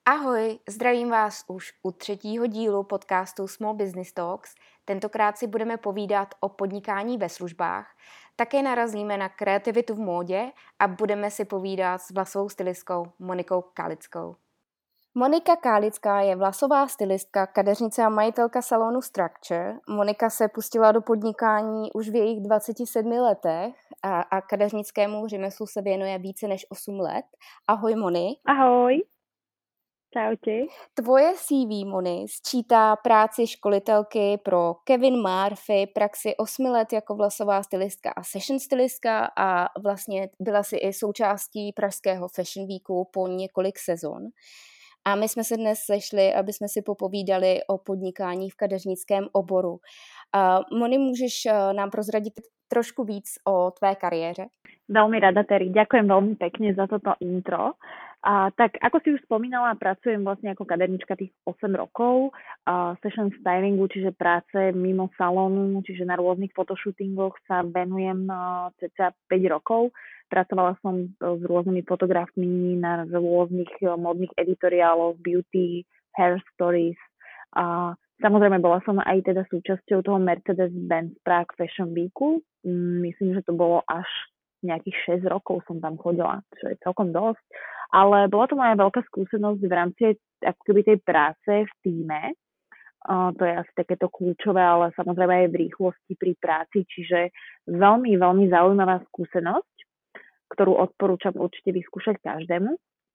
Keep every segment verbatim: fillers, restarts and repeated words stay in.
Ahoj, zdravím vás už u třetího dílu podcastu Small Business Talks. Tentokrát si budeme povídat o podnikání ve službách. Také narazíme na kreativitu v módě a budeme si povídat s vlasovou stylistkou Monikou Kálickou. Monika Kálická je vlasová stylistka, kadeřnice a majitelka salonu Structure. Monika se pustila do podnikání už v jejich dvaceti sedmi letech a, a kadeřnickému řemeslu se věnuje více než osm let. Ahoj, Moni. Ahoj. Čaute. Tvoje C V, Moni, sčítá práci školitelky pro Kevin Murphy, praxi osmi let jako vlasová stylistka a session stylistka a vlastně byla si i součástí pražského Fashion Weeku po několik sezon. A my jsme se dnes sešli, aby jsme si popovídali o podnikání v kadeřnickém oboru. Uh, Moni, můžeš uh, nám prozradit trošku víc o tvé kariéře? Veľmi rada, Terry. Ďakujem veľmi pekne za toto intro. A, tak ako si už spomínala, pracujem vlastne ako kadernička tých osem rokov, a session stylingu, čiže práce mimo salónu, čiže na rôznych fotoshootingoch sa venujem cca päť rokov. Pracovala som s rôznymi fotografmi na rôznych modných editoriáloch, beauty, hair stories. A samozrejme bola som aj teda súčasťou toho Mercedes-Benz Prague Fashion Weeku. Myslím, že to bolo až nejakých šesť rokov som tam chodila, čo je celkom dosť. Ale bola to moja veľká skúsenosť v rámci ako keby tej práce v tíme. Uh, to je asi takéto kľúčové, ale samozrejme aj v rýchlosti pri práci, čiže veľmi, veľmi zaujímavá skúsenosť, ktorú odporúčam určite vyskúšať každému.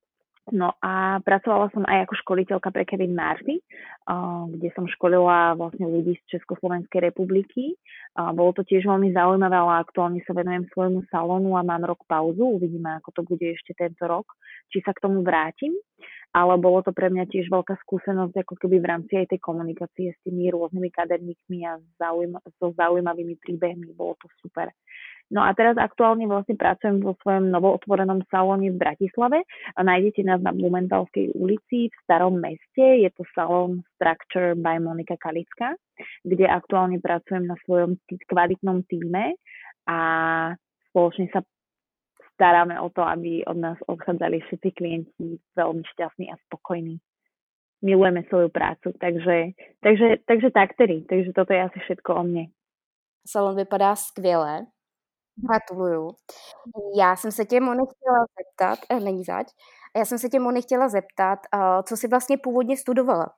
No a pracovala som aj ako školiteľka pre Kevin Murphy, uh, kde som školila vlastne ľudí z Československej republiky. Uh, bolo to tiež veľmi zaujímavé, ale aktuálne sa venujem svojmu salónu a mám rok pauzu. Uvidíme, ako to bude ešte tento rok, či sa k tomu vrátim. Ale bolo to pre mňa tiež veľká skúsenosť, ako keby v rámci aj tej komunikácie s tými rôznymi kaderníkmi a zaujma- so zaujímavými príbehmi. Bolo to super. No a teraz aktuálne vlastne pracujem vo svojom novootvorenom salóne v Bratislave. A nájdete nás na Blumenthal-skej ulici v Starom meste. Je to salón Structure by Monika Kálická, kde aktuálne pracujem na svojom kvalitnom týme a spoločne sa staráme o to, aby od nás odchádzali všetci klienti veľmi šťastní a spokojní. Milujeme svoju prácu, takže, takže, takže tak tedy. Takže toto je asi všetko o mne. Salon vypadá skvěle. Gratuluju. Já jsem se tě, Moni, chtěla zeptat, eh, není zač, já jsem se tě, Moni, chtěla zeptat, uh, co jsi vlastně původně studovala?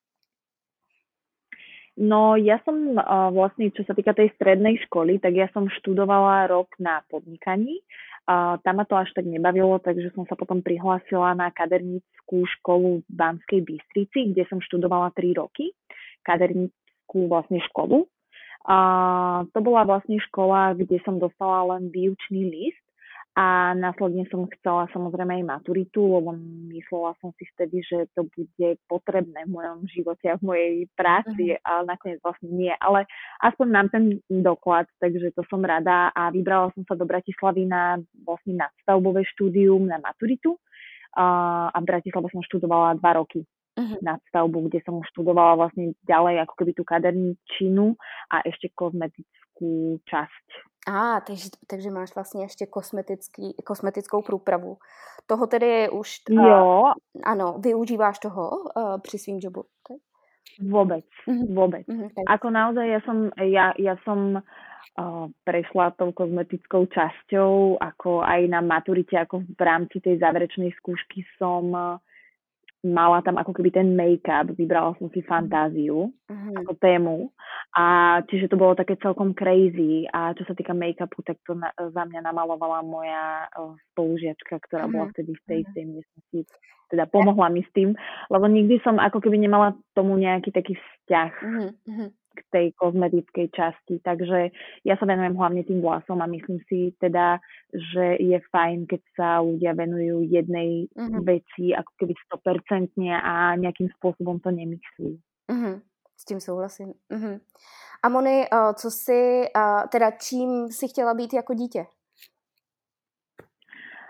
No ja som uh, vlastne, čo sa týka tej strednej školy, tak ja som študovala rok na podnikaní. Uh, tam ma to až tak nebavilo, takže som sa potom prihlásila na kadernícku školu v Banskej Bystrici, kde som študovala tri roky. Kadernícku vlastne školu. A to bola vlastne škola, kde som dostala len výučný list a následne som chcela samozrejme aj maturitu, lebo myslela som si vtedy, že to bude potrebné v mojom živote a v mojej práci, mm-hmm. ale nakoniec vlastne nie. Ale aspoň mám ten doklad, takže to som rada a vybrala som sa do Bratislavy na vlastne nadstavbové štúdium na maturitu a, a v Bratislave som študovala dva roky. Uh-huh. Nadstavbu, kde som študovala vlastne ďalej ako keby tú kaderničinu a ešte kozmetickú časť. Á, takže, takže máš vlastně ještě kosmetický, kosmetickou průpravu. Toho tedy je už... Jo. Uh, ano, využíváš toho uh, při svým jobu? Okay. Vôbec, uh-huh. vôbec. Uh-huh. Ako naozaj ja som, ja, ja som uh, prešla tou kozmetickou časťou, ako aj na maturite, ako v rámci tej záverečnej skúšky som... Uh, mala tam ako keby ten make-up, vybrala som si fantáziu uh-huh. ako tému a čiže to bolo také celkom crazy a čo sa týka make-upu, tak to na, za mňa namalovala moja uh, spolužiačka, ktorá uh-huh. bola vtedy v tej istej miestnosti, teda pomohla mi s tým, lebo nikdy som ako keby nemala tomu nejaký taký vzťah uh-huh. k tej kozmetickej časti, takže ja sa venujem hlavne tým vlasom a myslím si teda, že je fajn, keď sa ľudia venujú jednej uh-huh. veci ako keby sto percent a nejakým spôsobom to nemixujú. Uh-huh. S tím souhlasím. Uh-huh. A Moni, co si, teda čím si chtěla být jako dítě?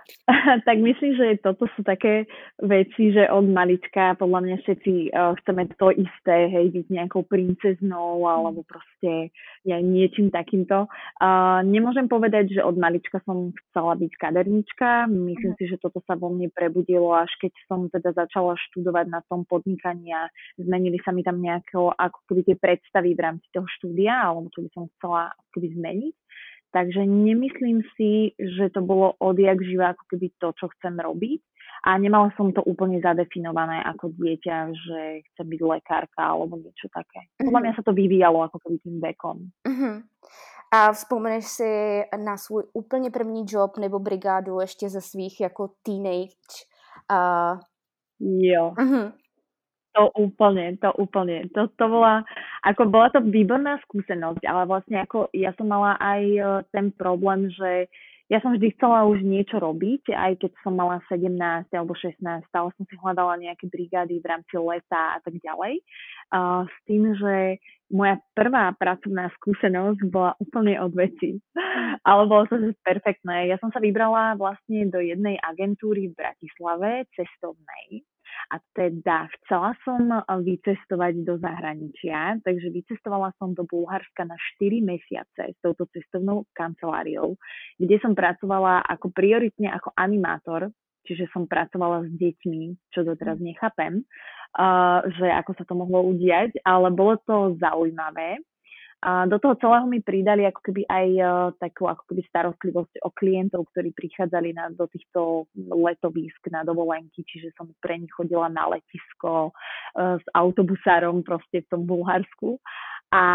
Tak myslím, že toto sú také veci, že od malička podľa mňa všetci uh, chceme to isté, hej, byť nejakou princeznou alebo proste ja, niečím takýmto. Uh, nemôžem povedať, že od malička som chcela byť kadernička. Myslím si, že toto sa vo mne prebudilo, až keď som teda začala študovať na tom podnikaní a zmenili sa mi tam nejako ako keby tie predstavy v rámci toho štúdia, alebo čo by som chcela ako keby zmeniť. Takže nemyslím si, že to bolo odjak živa ako keby to, čo chcem robiť. A nemala som to úplne zadefinované ako dieťa, že chcem byť lekárka alebo niečo také. Podľa mňa sa to vyvíjalo ako keby tým vekom. Uh-huh. A vzpomeneš si na svůj úplně první job nebo brigádu ještě ze svých jako teenage? Uh... Jo. Uh-huh. To úplne, to úplne. To, to bola, ako bola to výborná skúsenosť, ale vlastne ako ja som mala aj ten problém, že ja som vždy chcela už niečo robiť, aj keď som mala sedemnásť alebo šestnásť, stále som si hľadala nejaké brigády v rámci leta a tak ďalej. Uh, s tým, že moja prvá pracovná skúsenosť bola úplne od veci. Ale bolo to perfektné. Ja som sa vybrala vlastne do jednej agentúry v Bratislave, cestovnej. A teda chcela som vycestovať do zahraničia, takže vycestovala som do Bulharska na štyri mesiace s touto cestovnou kanceláriou, kde som pracovala ako prioritne ako animátor, čiže som pracovala s deťmi, čo doteraz nechápem, uh, že ako sa to mohlo udiať, ale bolo to zaujímavé. A do toho celého mi pridali ako keby aj uh, takú ako keby starostlivosť o klientov, ktorí prichádzali na, do týchto letovísk na dovolenky, čiže som pre nich chodila na letisko uh, s autobusárom proste v tom Bulharsku. A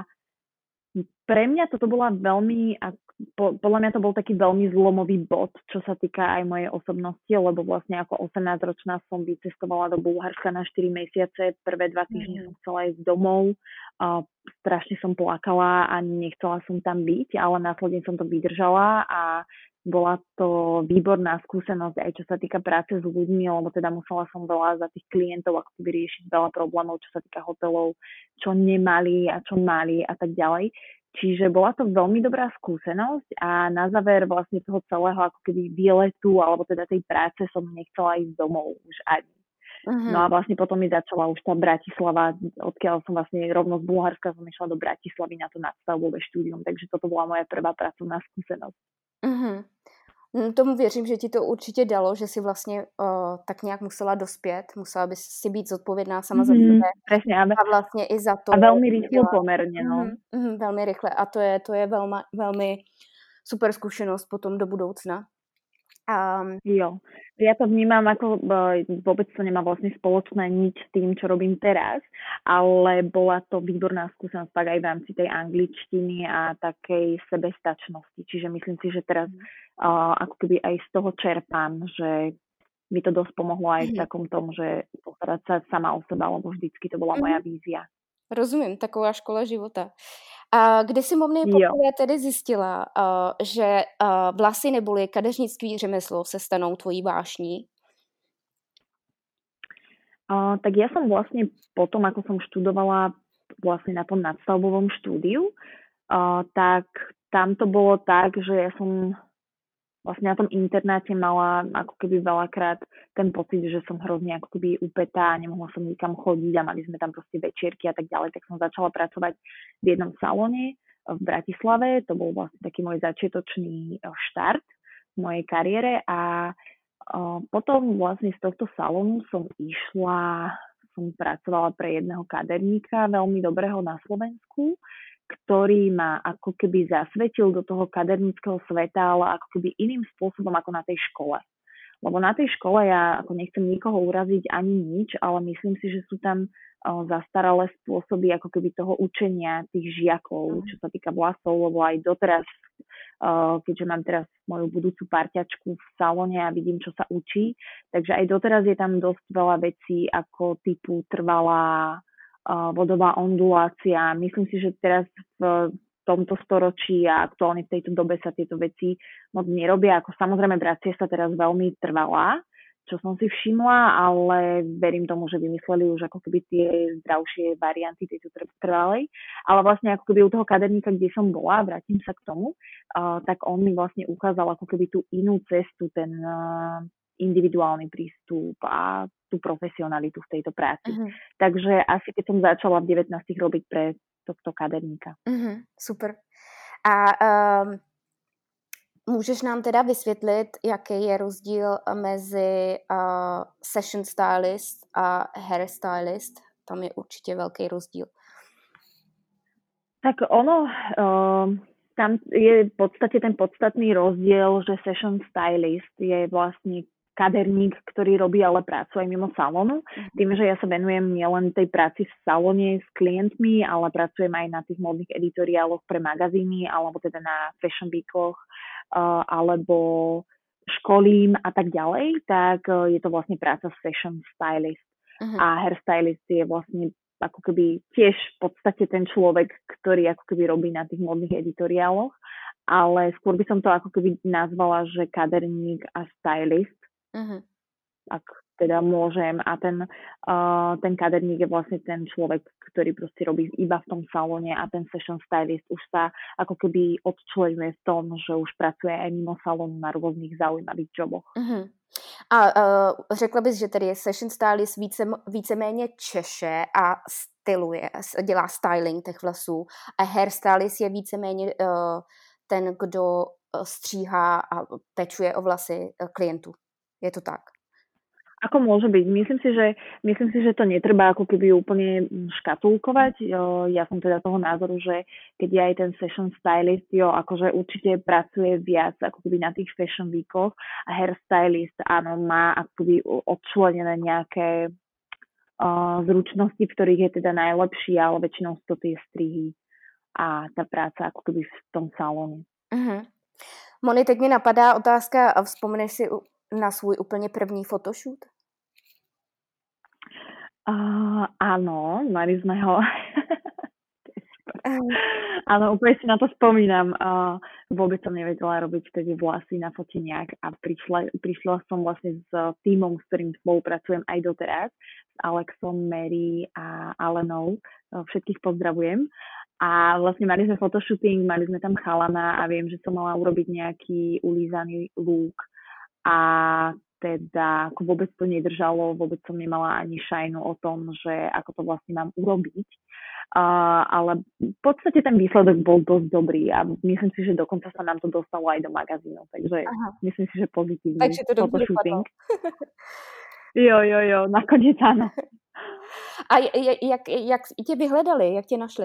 pre mňa toto bola veľmi, po, podľa mňa to bol taký veľmi zlomový bod, čo sa týka aj mojej osobnosti, lebo vlastne ako osemnásťročná som vycestovala do Bulharska na štyri mesiace, prvé dva týždne mm. som chcela ísť domov, uh, strašne som plakala a nechcela som tam byť, ale následne som to vydržala a bola to výborná skúsenosť aj čo sa týka práce s ľuďmi, lebo teda musela som veľa za tých klientov ako keby riešiť veľa problémov, čo sa týka hotelov, čo nemali a čo mali a tak ďalej. Čiže bola to veľmi dobrá skúsenosť a na záver vlastne toho celého ako keby výletu alebo teda tej práce som nechcela ísť domov už ani. Uh-huh. No a vlastne potom mi začala už tá Bratislava, odkiaľ som vlastne rovno z Bulharska som išla do Bratislavy na to nadstavbové štúdium, takže toto bola moja prvá pracovná skúsenosť. Uh-huh. Tomu věřím, že ti to určitě dalo, že si vlastně uh, tak nějak musela dospět, musela by si být zodpovědná sama mm-hmm, za sebe. Presne, a, a vlastně i za to. A velmi rychle poměrně, no. Mm-hmm, mm, velmi rychle a to je, to je velmi, velmi super zkušenost potom do budoucna. Um, jo, ja to vnímam ako vôbec to nemá vlastne spoločné nič s tým, čo robím teraz, ale bola to výborná skúsenosť tak aj v rámci tej angličtiny a takej sebestačnosti. Čiže myslím si, že teraz uh, ako keby aj z toho čerpám, že mi to dosť pomohlo aj v takom tom, že postarať sa sama o seba, lebo vždycky to bola moja vízia. Rozumím, taková škola života. A kdy si Momny poprvé tedy zjistila, uh, že uh, vlasy neboli kadeřnictví řemeslo se stanou tvojí vášní? Uh, tak ja som vlastne potom, ako som študovala vlastne na tom nadstavbovom štúdiu, uh, tak tam to bolo tak, že ja som vlastne na tom internáte mala ako keby veľakrát ten pocit, že som hrozne ako keby upetá, nemohla som nikam chodiť a mali sme tam proste večierky a tak ďalej, tak som začala pracovať v jednom salóne v Bratislave, to bol vlastne taký môj začiatočný štart v mojej kariére a potom vlastne z tohto salónu som išla, som pracovala pre jedného kaderníka veľmi dobrého na Slovensku, ktorý ma ako keby zasvetil do toho kaderníckeho sveta, ale ako keby iným spôsobom ako na tej škole. Lebo na tej škole ja ako nechcem nikoho uraziť ani nič, ale myslím si, že sú tam o, zastaralé spôsoby ako keby toho učenia tých žiakov, čo sa týka vlasov, lebo aj doteraz, o, keďže mám teraz moju budúcu parťačku v salóne a vidím, čo sa učí, takže aj doteraz je tam dosť veľa vecí ako typu trvalá vodová ondulácia. Myslím si, že teraz v tomto storočí a aktuálne v tejto dobe sa tieto veci moc nerobia. Ako samozrejme vracia sa teraz veľmi trvalá, čo som si všimla, ale verím tomu, že vymysleli už ako keby tie zdravšie varianty tejto trvalej. Ale vlastne ako keby u toho kaderníka, kde som bola, vrátim sa k tomu, uh, tak on mi vlastne ukázal ako keby tú inú cestu, ten uh, individuálny prístup a tú profesionalitu v tejto práci. Uh-huh. Takže asi keď som začala v devätnástich robiť pre tohto kaderníka. Uh-huh. Super. A um... můžeš nám teda vysvětlit, jaký je rozdíl mezi uh, session stylist a hairstylist? Tam je určitě velký rozdíl. Tak ono, uh, tam je v podstate ten podstatný rozdiel, že session stylist je vlastne kaderník, ktorý robí ale prácu aj mimo salónu. Mm-hmm. Tým, že ja sa venujem nielen tej práci v salóne s klientmi, ale pracujem aj na tých modných editoriáloch pre magazíny, alebo teda na fashion weekoch, Uh, alebo školím a tak ďalej, tak uh, je to vlastne práca session stylist. Uh-huh. A hairstylist je vlastne ako keby tiež v podstate ten človek, ktorý ako keby robí na tých modných editoriáloch, ale skôr by som to ako keby nazvala, že kaderník a stylist, uh-huh. ak teda môžem. A ten, uh, ten kaderník je vlastne ten človek, ktorý proste robí iba v tom salóne a ten session stylist už sa ako keby odčlenuje v tom, že už pracuje aj mimo salónu na rôznych zaujímavých joboch. Uh-huh. A uh, řekla bys, že tedy je session stylist více, víceméně češe a styluje, dělá styling těch vlasů a hairstylist je víceméně uh, ten, kdo stříhá a pečuje o vlasy klientů. Je to tak? Ako môže byť? Myslím si, že, myslím si, že to netreba ako keby úplne škatulkovať. Ja som teda toho názoru, že keď je aj ten session stylist, jo, akože určite pracuje viac ako keby na tých fashion weekoch a hairstylist, áno, má ako keby odčlenené nejaké uh, zručnosti, v ktorých je teda najlepší, ale väčšinou sú to tie strihy a tá práca ako keby v tom salóne. Uh-huh. Moni, teď mi napadá otázka, a vzpomeneš si na svůj úplně první photoshoot? Uh, áno, mali sme ho. Áno, úplne si na to spomínam. Uh, vôbec som nevedela robiť vtedy vlasy na foteniach a prišla, prišla som vlastne s tímom, s ktorým spolupracujem aj doteraz, s Alexom, Mary a Alenou. Všetkých pozdravujem. A vlastne mali sme photoshooting, mali sme tam chalana a viem, že som mala urobiť nejaký ulízaný look. A teda ako vôbec to nedržalo, vôbec som nemala ani šajnu o tom, že ako to vlastne mám urobiť. Uh, ale v podstate ten výsledok bol dosť dobrý a myslím si, že dokonca sa nám to dostalo aj do magazínov, takže Aha. myslím si, že pozitívny takže to photoshooting. Jo, jo, jo, nakoniec áno. A jak, jak, jak tě vyhledali, jak tě našli?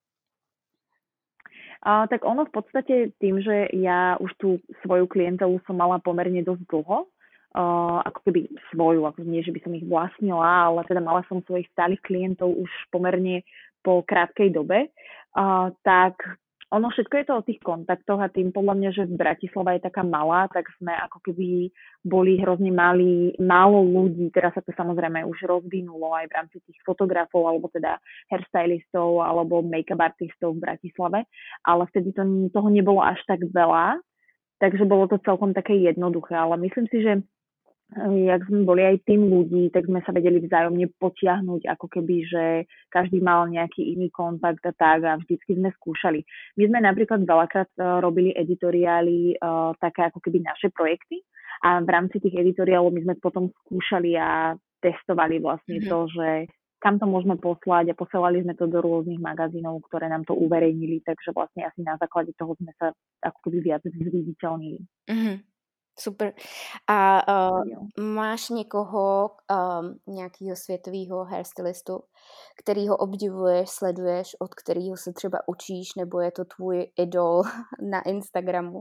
Uh, tak ono v podstate tým, že ja už tú svoju klientelu som mala pomerne dosť dlho, uh, ako keby svoju, ako nie, že by som ich vlastnila, ale teda mala som svojich stálych klientov už pomerne po krátkej dobe, uh, tak ono všetko je to o tých kontaktoch a tým podľa mňa, že v Bratislava je taká malá, tak sme ako keby boli hrozne malí, málo ľudí, teraz sa to samozrejme už rozvinulo aj v rámci tých fotografov alebo teda hairstylistov alebo make-up artistov v Bratislave, ale vtedy to, toho nebolo až tak veľa, takže bolo to celkom také jednoduché, ale myslím si, že jak sme boli aj tým ľudí, tak sme sa vedeli vzájomne potiahnuť, ako keby, že každý mal nejaký iný kontakt a tak a vždycky sme skúšali. My sme napríklad veľakrát uh, robili editoriály, uh, také ako keby naše projekty a v rámci tých editoriálov my sme potom skúšali a testovali vlastne mm-hmm. to, že kam to môžeme poslať a posielali sme to do rôznych magazínov, ktoré nám to uverejnili, takže vlastne asi na základe toho sme sa ako keby viac zviditeľnili. Mm-hmm. Super. A uh, máš někoho, um, nějakého světového hairstylistu, kterýho obdivuješ, sleduješ, od kterého se třeba učíš, nebo je to tvůj idol na Instagramu?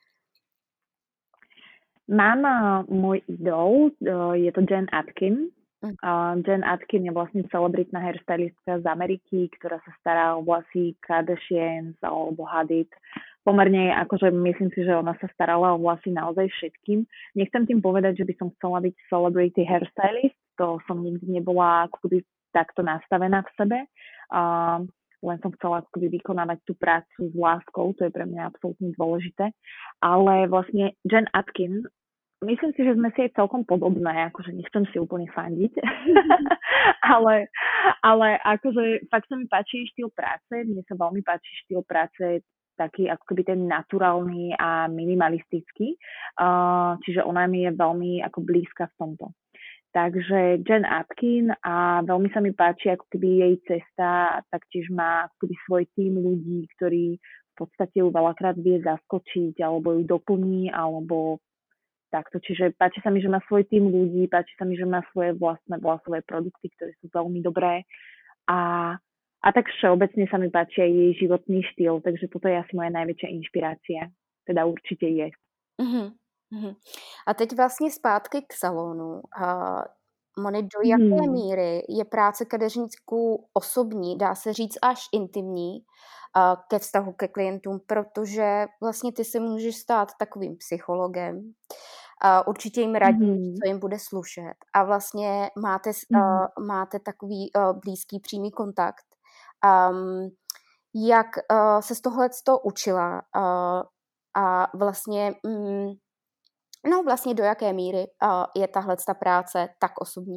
Mám uh, môj idol, uh, je to Jen Atkin. Uh, Jen Atkin je vlastne celebritná hairstylistka z Ameriky, ktorá sa stará o vlasy Kardashians alebo Hadid. Pomerne, akože myslím si, že ona sa starala o vlasy naozaj všetkým. Nechcem tým povedať, že by som chcela byť celebrity hairstylist, to som nikdy nebola ako keby takto nastavená v sebe. Uh, len som chcela ako keby vykonávať tú prácu s láskou, to je pre mňa absolútne dôležité. Ale vlastne Jen Atkin myslím si, že sme si aj celkom podobné, akože nechcem si úplne fandiť, ale, ale akože fakt sa mi páči štýl práce, mne sa veľmi páči štýl práce taký ako keby ten naturálny a minimalistický, uh, čiže ona mi je veľmi ako blízka v tomto. Takže Jen Atkin a veľmi sa mi páči ako keby jej cesta, taktiež má ako keby svoj tím ľudí, ktorí v podstate ju veľakrát vie zaskočiť alebo ju doplní, alebo takto. Čiže páči sa mi, že má svoj tím ľudí, páči sa mi, že má svoje vlastné vlasové produkty, ktoré sú veľmi dobré a, a tak všeobecne sa mi páči aj jej životný štýl, takže toto je asi moja najväčšia inšpirácia. Teda určite je. Mm-hmm. A teď vlastně zpátky k salonu. Uh, Moni, do Hmm. jaké míry je práce kadeřníků osobní, dá se říct až intimní, uh, ke vztahu ke klientům, protože vlastně ty se můžeš stát takovým psychologem, uh, určitě jim radíš, Hmm. co jim bude slušet a vlastně máte, Hmm. uh, máte takový uh, blízký přímý kontakt. Um, jak uh, se z tohleto učila uh, a vlastně um, no vlastně do jaké míry uh, je tahle ta práce tak osobní?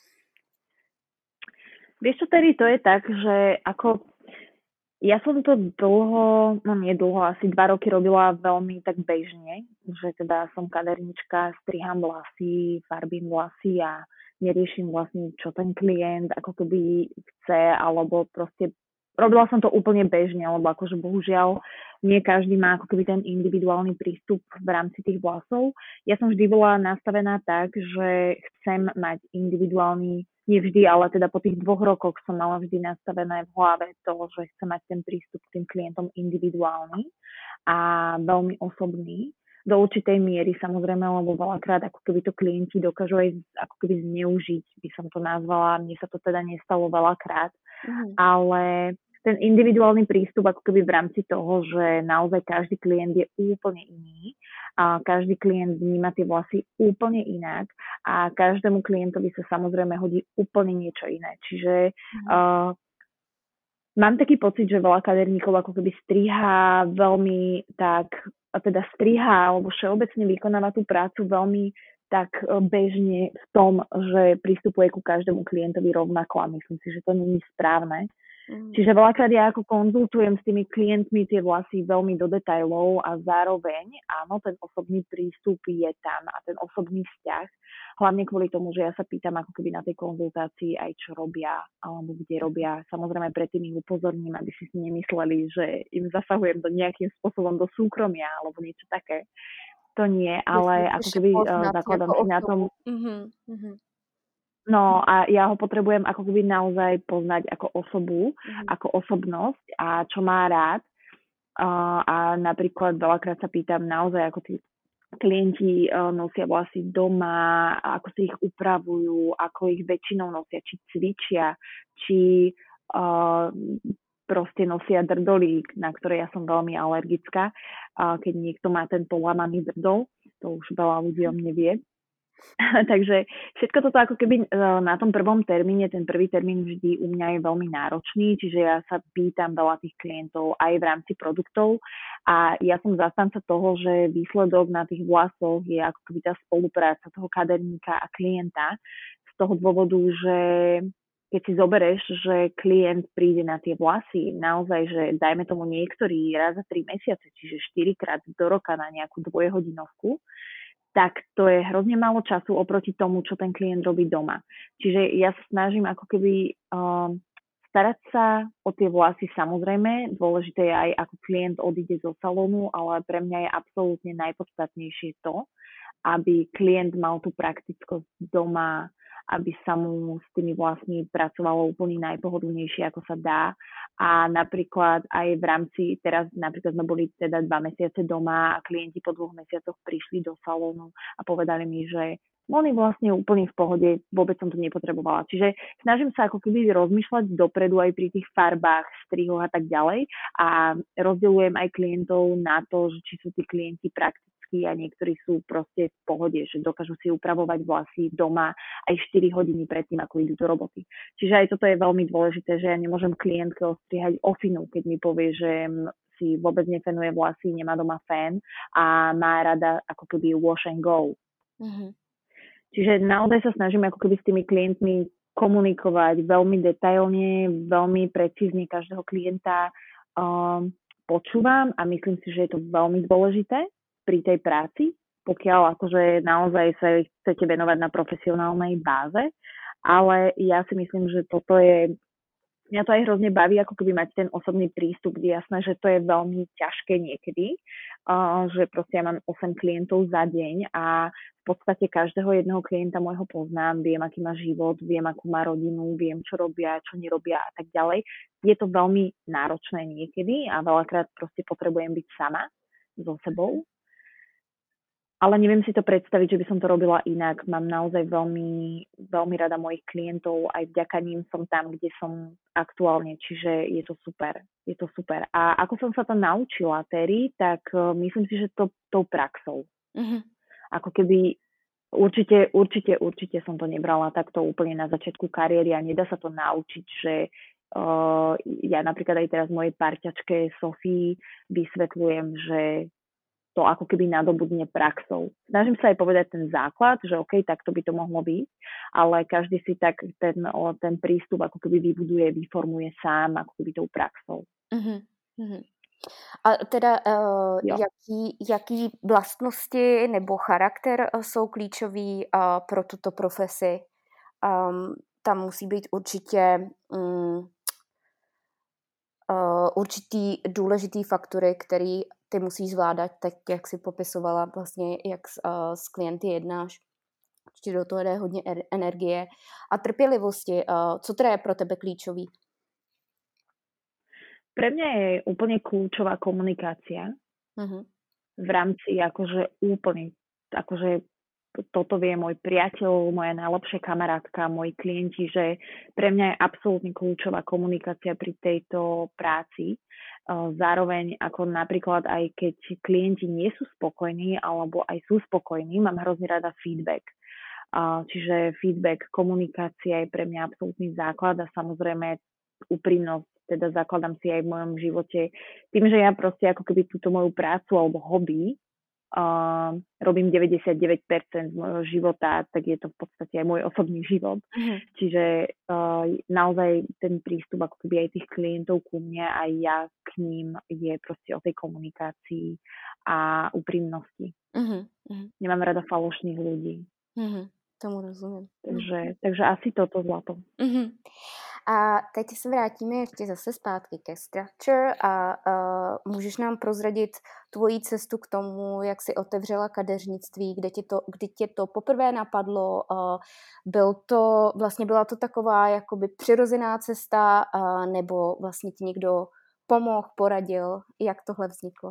Vieš čo, tedy to je tak, že ako ja som to dlho, no nie dlho, asi dva roky robila veľmi tak bežne, že teda som kadernička, striham vlasy, farbím vlasy a neriešim vlastne, čo ten klient ako keby chce, alebo proste robila som to úplne bežne, lebo akože bohužiaľ nie každý má ako keby ten individuálny prístup v rámci tých vlasov. Ja som vždy bola nastavená tak, že chcem mať individuálny, nie vždy, ale teda po tých dvoch rokoch som mala vždy nastavené v hlave to, že chcem mať ten prístup k tým klientom individuálny a veľmi osobný. Do určitej miery samozrejme, lebo veľakrát ako keby to klienti dokážu aj ako keby zneužiť, by som to nazvala. Mne sa to teda nestalo veľakrát, mm. ale ten individuálny prístup ako keby v rámci toho, že naozaj každý klient je úplne iný a každý klient vníma tie vlasy úplne inak a každému klientovi sa samozrejme hodí úplne niečo iné. Čiže mm. uh, mám taký pocit, že veľa kaderníkov ako keby striha veľmi tak, a teda striha alebo všeobecne vykonáva tú prácu veľmi tak bežne v tom, že pristupuje ku každému klientovi rovnako a myslím si, že to nie je správne. Mm. Čiže veľakrát ja ako konzultujem s tými klientmi tie vlasy veľmi do detailov a zároveň áno, ten osobný prístup je tam a ten osobný vzťah, hlavne kvôli tomu, že ja sa pýtam ako keby na tej konzultácii aj čo robia alebo kde robia. Samozrejme predtým ich upozorním, aby si nemysleli, že im zasahujem do nejakým spôsobom do súkromia alebo niečo také. To nie, ale ako keby uh, zakladám si na tom. Mm-hmm. No a ja ho potrebujem ako keby naozaj poznať ako osobu, mm. ako osobnosť a čo má rád. Uh, a napríklad veľakrát sa pýtam naozaj, ako tí klienti uh, nosia vlasy doma, ako si ich upravujú, ako ich väčšinou nosia, či cvičia, či uh, proste nosia drdolík, na ktoré ja som veľmi alergická. Uh, keď niekto má ten polamaný drdol, to už veľa ľudí o mne vie. Takže všetko toto ako keby na tom prvom termíne, ten prvý termín vždy u mňa je veľmi náročný, čiže ja sa pýtam veľa tých klientov aj v rámci produktov a ja som zastanca toho, že výsledok na tých vlasoch je ako keby tá spolupráca toho kaderníka a klienta z toho dôvodu, že keď si zoberieš, že klient príde na tie vlasy, naozaj, že dajme tomu niektorý raz za tri mesiace, čiže štyrikrát do roka na nejakú dvojhodinovku, tak to je hrozne málo času oproti tomu, čo ten klient robí doma. Čiže ja sa snažím ako keby um, starať sa o tie vlasy samozrejme. Dôležité je aj, ako klient odíde zo salónu, ale pre mňa je absolútne najpodstatnejšie to, aby klient mal tú praktickosť doma, aby sa mu s tými vlasmi pracovalo úplne najpohodlnejšie, ako sa dá. A napríklad aj v rámci, teraz napríklad sme boli teda dva mesiace doma a klienti po dvoch mesiacoch prišli do salónu a povedali mi, že Moni vlastne úplne v pohode, vôbec som to nepotrebovala. Čiže snažím sa ako keby rozmýšľať dopredu aj pri tých farbách, strihoch a tak ďalej a rozdeľujem aj klientov na to, že či sú tí klienti praktickí a niektorí sú proste v pohode, že dokážu si upravovať vlasy doma aj štyri hodiny predtým, ako idú do roboty. Čiže aj toto je veľmi dôležité, že ja nemôžem klientke ostrihať ofinu, keď mi povie, že si vôbec nefenuje vlasy, nemá doma fén a má rada ako keby wash and go. Mm-hmm. Čiže naozaj sa snažím ako keby s tými klientmi komunikovať veľmi detailne, veľmi precízne každého klienta um, počúvam a myslím si, že je to veľmi dôležité pri tej práci, pokiaľ akože naozaj sa chcete venovať na profesionálnej báze, ale ja si myslím, že toto je mňa to aj hrozne baví, ako keby mať ten osobný prístup, kde jasné, že to je veľmi ťažké niekedy, uh, že proste ja mám osem klientov za deň a v podstate každého jedného klienta môjho poznám, viem, aký má život, viem, akú má rodinu, viem, čo robia, čo nerobia a tak ďalej. Je to veľmi náročné niekedy a veľakrát proste potrebujem byť sama so sebou. Ale neviem si to predstaviť, že by som to robila inak. Mám naozaj veľmi, veľmi rada mojich klientov, aj vďaka ním som tam, kde som aktuálne, čiže je to super. Je to super. A ako som sa to naučila, Terry, tak uh, myslím si, že to tou praxou. Mm-hmm. Ako keby určite, určite, určite som to nebrala takto úplne na začiatku kariéry a nedá sa to naučiť, že uh, ja napríklad aj teraz mojej parťačke Sofii vysvetľujem, že to ako keby nadobudne praxou. Snažím sa aj povedať ten základ, že OK, takto by to mohlo byť, ale každý si tak ten, ten prístup ako keby vybuduje, vyformuje sám ako keby tou praxou. Uh-huh. A teda uh, jaký, jaký vlastnosti nebo charakter jsou klíčový uh, pro tuto profesi? Um, tam musí být určitě um, uh, určitý důležitý faktory, který ty musíš zvládat, tak jak si popisovala vlastně, jak s, uh, s klienty jednáš. Určitě do toho jde hodně er- energie a trpělivosti. Uh, co teda je pro tebe klíčový? Pre mňa je úplne kľúčová komunikácia uh-huh. v rámci akože úplne, akože toto vie môj priateľ, moja najlepšia kamarátka, moji klienti, že pre mňa je absolútne kľúčová komunikácia pri tejto práci. Zároveň ako napríklad aj keď klienti nie sú spokojní alebo aj sú spokojní, mám hrozne rada feedback. Čiže feedback, komunikácia je pre mňa absolútny základ a samozrejme úprimnosť, teda zakladám si aj v mojom živote. Tým, že ja proste ako keby túto moju prácu alebo hobby uh, robím deväťdesiatdeväť percent z môjho života, tak je to v podstate aj môj osobný život. Mm. Čiže uh, naozaj ten prístup ako keby aj tých klientov ku mne aj ja k ním je proste o tej komunikácii a úprimnosti. Mm-hmm. Nemám rada falošných ľudí. Mm-hmm. Tomu rozumím. Takže, takže asi toto zlato. Mm-hmm. A teď se vrátíme ještě zase zpátky ke Structure a uh, můžeš nám prozradit tvoji cestu k tomu, jak jsi otevřela kadeřnictví, kde tě to, kdy tě to poprvé napadlo, uh, byl to, vlastně byla to taková jakoby přirozená cesta, uh, nebo vlastně ti někdo pomohl, poradil, jak tohle vzniklo?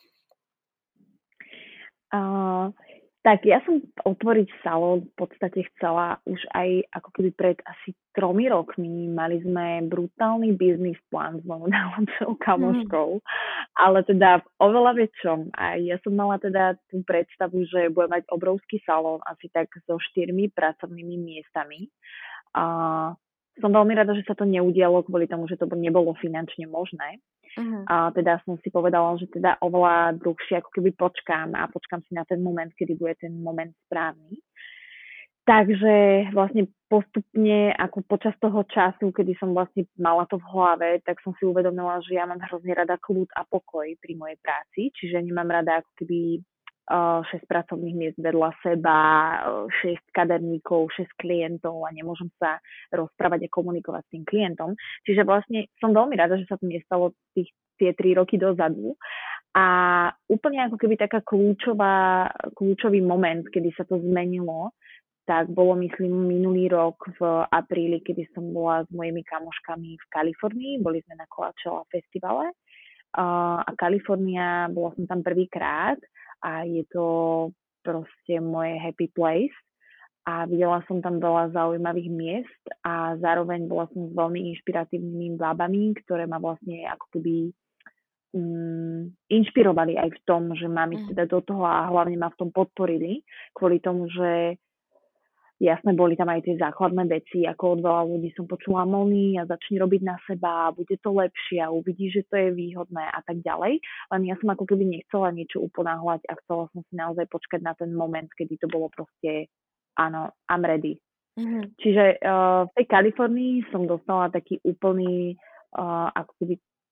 Uh... Tak ja som otvoriť salón v podstate chcela už aj ako keby pred asi tromi rokmi. Mali sme brutálny biznis plán s mojou najlepšou kamoškou, mm. ale teda v oveľa väčšom. A ja som mala teda tú predstavu, že budem mať obrovský salón asi tak so štyrmi pracovnými miestami. A som veľmi rada, že sa to neudialo kvôli tomu, že to nebolo finančne možné. Uh-huh. A teda som si povedala, že teda oveľa dlhšie ako keby počkám a počkám si na ten moment, kedy bude ten moment správny. Takže vlastne postupne, ako počas toho času, kedy som vlastne mala to v hlave, tak som si uvedomila, že ja mám hrozne rada kľud a pokoj pri mojej práci, čiže nemám rada ako keby uh, šesť pracovných miest vedľa seba, uh, šesť kaderníkov, šesť klientov a nemôžem sa rozprávať a komunikovať s tým klientom. Čiže vlastne som veľmi rada, že sa to nestalo tých, tie tri roky dozadu. A úplne ako keby taká kľúčová, kľúčový moment, kedy sa to zmenilo, tak bolo, myslím, minulý rok v apríli, kedy som bola s mojimi kamoškami v Kalifornii. Boli sme na Coachella festivale uh, a Kalifornia, bola som tam prvýkrát a je to proste moje happy place. A videla som tam veľa zaujímavých miest a zároveň bola som s veľmi inšpiratívnymi bábami, ktoré ma vlastne ako keby um, inšpirovali aj v tom, že mám ísť teda do toho a hlavne ma v tom podporili, kvôli tomu, že jasné, boli tam aj tie základné veci, ako od veľa ľudí som počula Moni a začni robiť na seba, bude to lepšie a uvidíš, že to je výhodné a tak ďalej. Len ja som ako keby nechcela niečo uponáhľať a chcela som si naozaj počkať na ten moment, kedy to bolo proste, áno, I'm ready. Mhm. Čiže uh, v tej Kalifornii som dostala taký úplný, uh, ako keby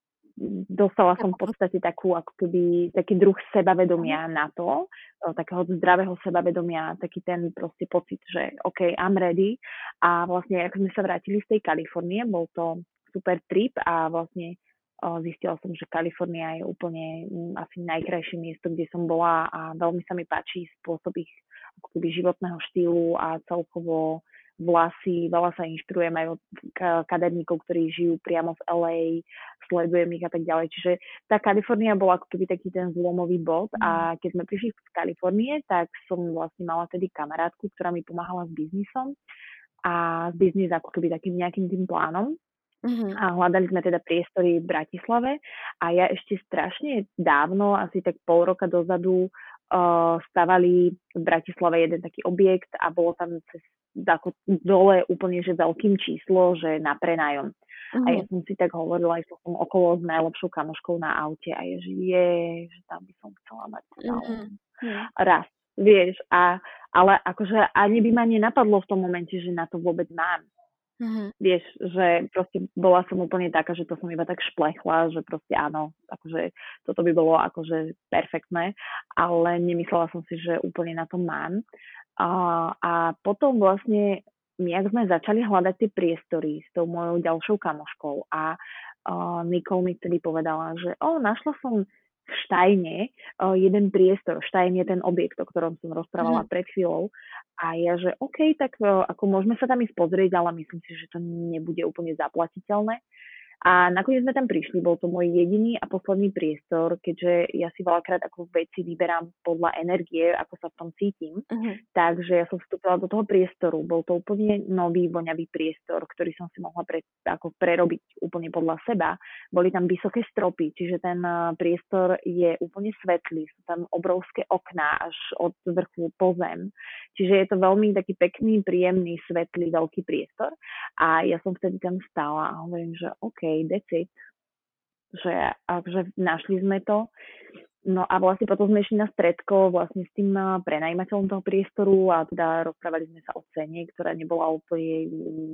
dostala som v podstate takú, ako keby, taký druh sebavedomia na to, takého zdravého sebavedomia, taký ten proste pocit, že OK, I'm ready. A vlastne, ako sme sa vrátili z tej Kalifornie, bol to super trip a vlastne o, zistila som, že Kalifornia je úplne m, asi najkrajšie miesto, kde som bola a veľmi sa mi páči spôsob ich ako keby životného štýlu a celkovo vlasy, veľa sa inšpirujem aj od kaderníkov, ktorí žijú priamo v el ej, sledujem ich a tak ďalej. Čiže tá Kalifornia bola ako keby taký ten zlomový bod a keď sme prišli z Kalifornie, tak som vlastne mala tedy kamarátku, ktorá mi pomáhala s biznisom a s biznis ako keby takým nejakým tým plánom. Mhm. A hľadali sme teda priestory v Bratislave a ja ešte strašne dávno, asi tak pol roka dozadu, uh, stavali v Bratislave jeden taký objekt a bolo tam cez ako dole úplne, že veľkým číslo, že na prenájom. Mhm. A ja som si tak hovorila, aj som okolo s najlepšou kamoškou na aute a je, že je, že tam by som chcela mať salón. Mhm. Raz, vieš, a, ale akože ani by ma nenapadlo v tom momente, že na to vôbec mám. Mhm. Vieš, že proste bola som úplne taká, že to som iba tak šplechla, že proste áno, akože toto by bolo akože perfektné, ale nemyslela som si, že úplne na to mám. A, a potom vlastne, my ak sme začali hľadať tie priestory s tou mojou ďalšou kamoškou a uh, Nicole mi vtedy povedala, že o, našla som v Štajne uh, jeden priestor. Štajn je ten objekt, o ktorom som rozprávala Mhm. pred chvíľou. A ja, že OK, tak uh, ako môžeme sa tam ísť pozrieť, ale myslím si, že to nebude úplne zaplatiteľné. A nakoniec sme tam prišli, bol to môj jediný a posledný priestor, keďže ja si veľakrát ako veci vyberám podľa energie, ako sa v tom cítim. Mhm. Takže ja som vstúpila do toho priestoru. Bol to úplne nový, voňavý priestor, ktorý som si mohla pre, ako prerobiť úplne podľa seba. Boli tam vysoké stropy, čiže ten uh, priestor je úplne svetlý. Sú tam obrovské okná až od vrchu po zem. Čiže je to veľmi taký pekný, príjemný, svetlý, veľký priestor. A ja som vtedy tam stála a hovorím, že OK, that's it. Že akože našli sme to. No a vlastne potom sme išli na stredko vlastne s tým prenajímateľom toho priestoru a teda rozprávali sme sa o cene, ktorá nebola úplne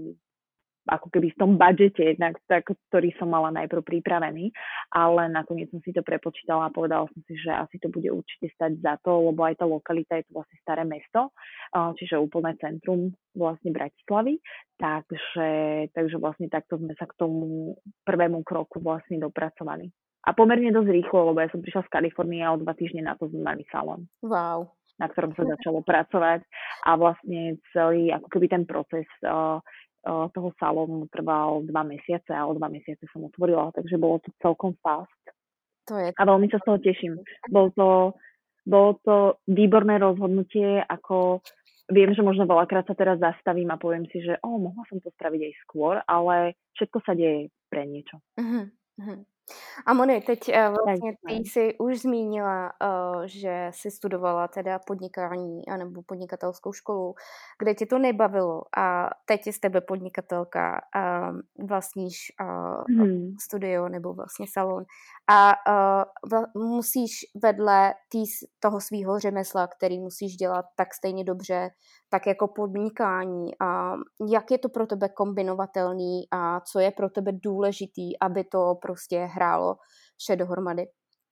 ako keby v tom budžete, tak, ktorý som mala najprv pripravený, ale nakoniec som si to prepočítala a povedala som si, že asi to bude určite stať za to, lebo aj tá lokalita je to vlastne staré mesto, čiže úplné centrum vlastne Bratislavy, takže, takže vlastne takto sme sa k tomu prvému kroku vlastne dopracovali. A pomerne dosť rýchlo, lebo ja som prišla z Kalifornie a o dva týždne na to sme mali salón. Wow. Na ktorom sa začalo pracovať a vlastne celý ako keby ten proces uh, toho salónu trval dva mesiace a o dva mesiace som otvorila, takže bolo to celkom fast. To je... A veľmi sa z toho teším. Bolo to, bolo to výborné rozhodnutie, ako viem, že možno veľakrát sa teraz zastavím a poviem si, že oh, mohla som to spraviť aj skôr, ale všetko sa deje pre niečo. Uh-huh. Uh-huh. A Moni, teď uh, vlastně Tak, ty jsi už zmínila, uh, že jsi studovala teda podnikání anebo podnikatelskou školu, kde tě to nebavilo a teď je z tebe podnikatelka, uh, vlastníš uh, hmm. studio nebo vlastně salon a uh, vla- musíš vedle tý, toho svýho řemesla, který musíš dělat tak stejně dobře, tak jako podnikání. A jak je to pro tebe kombinovatelný a co je pro tebe důležitý, aby to prostě hrálo vše dohromady?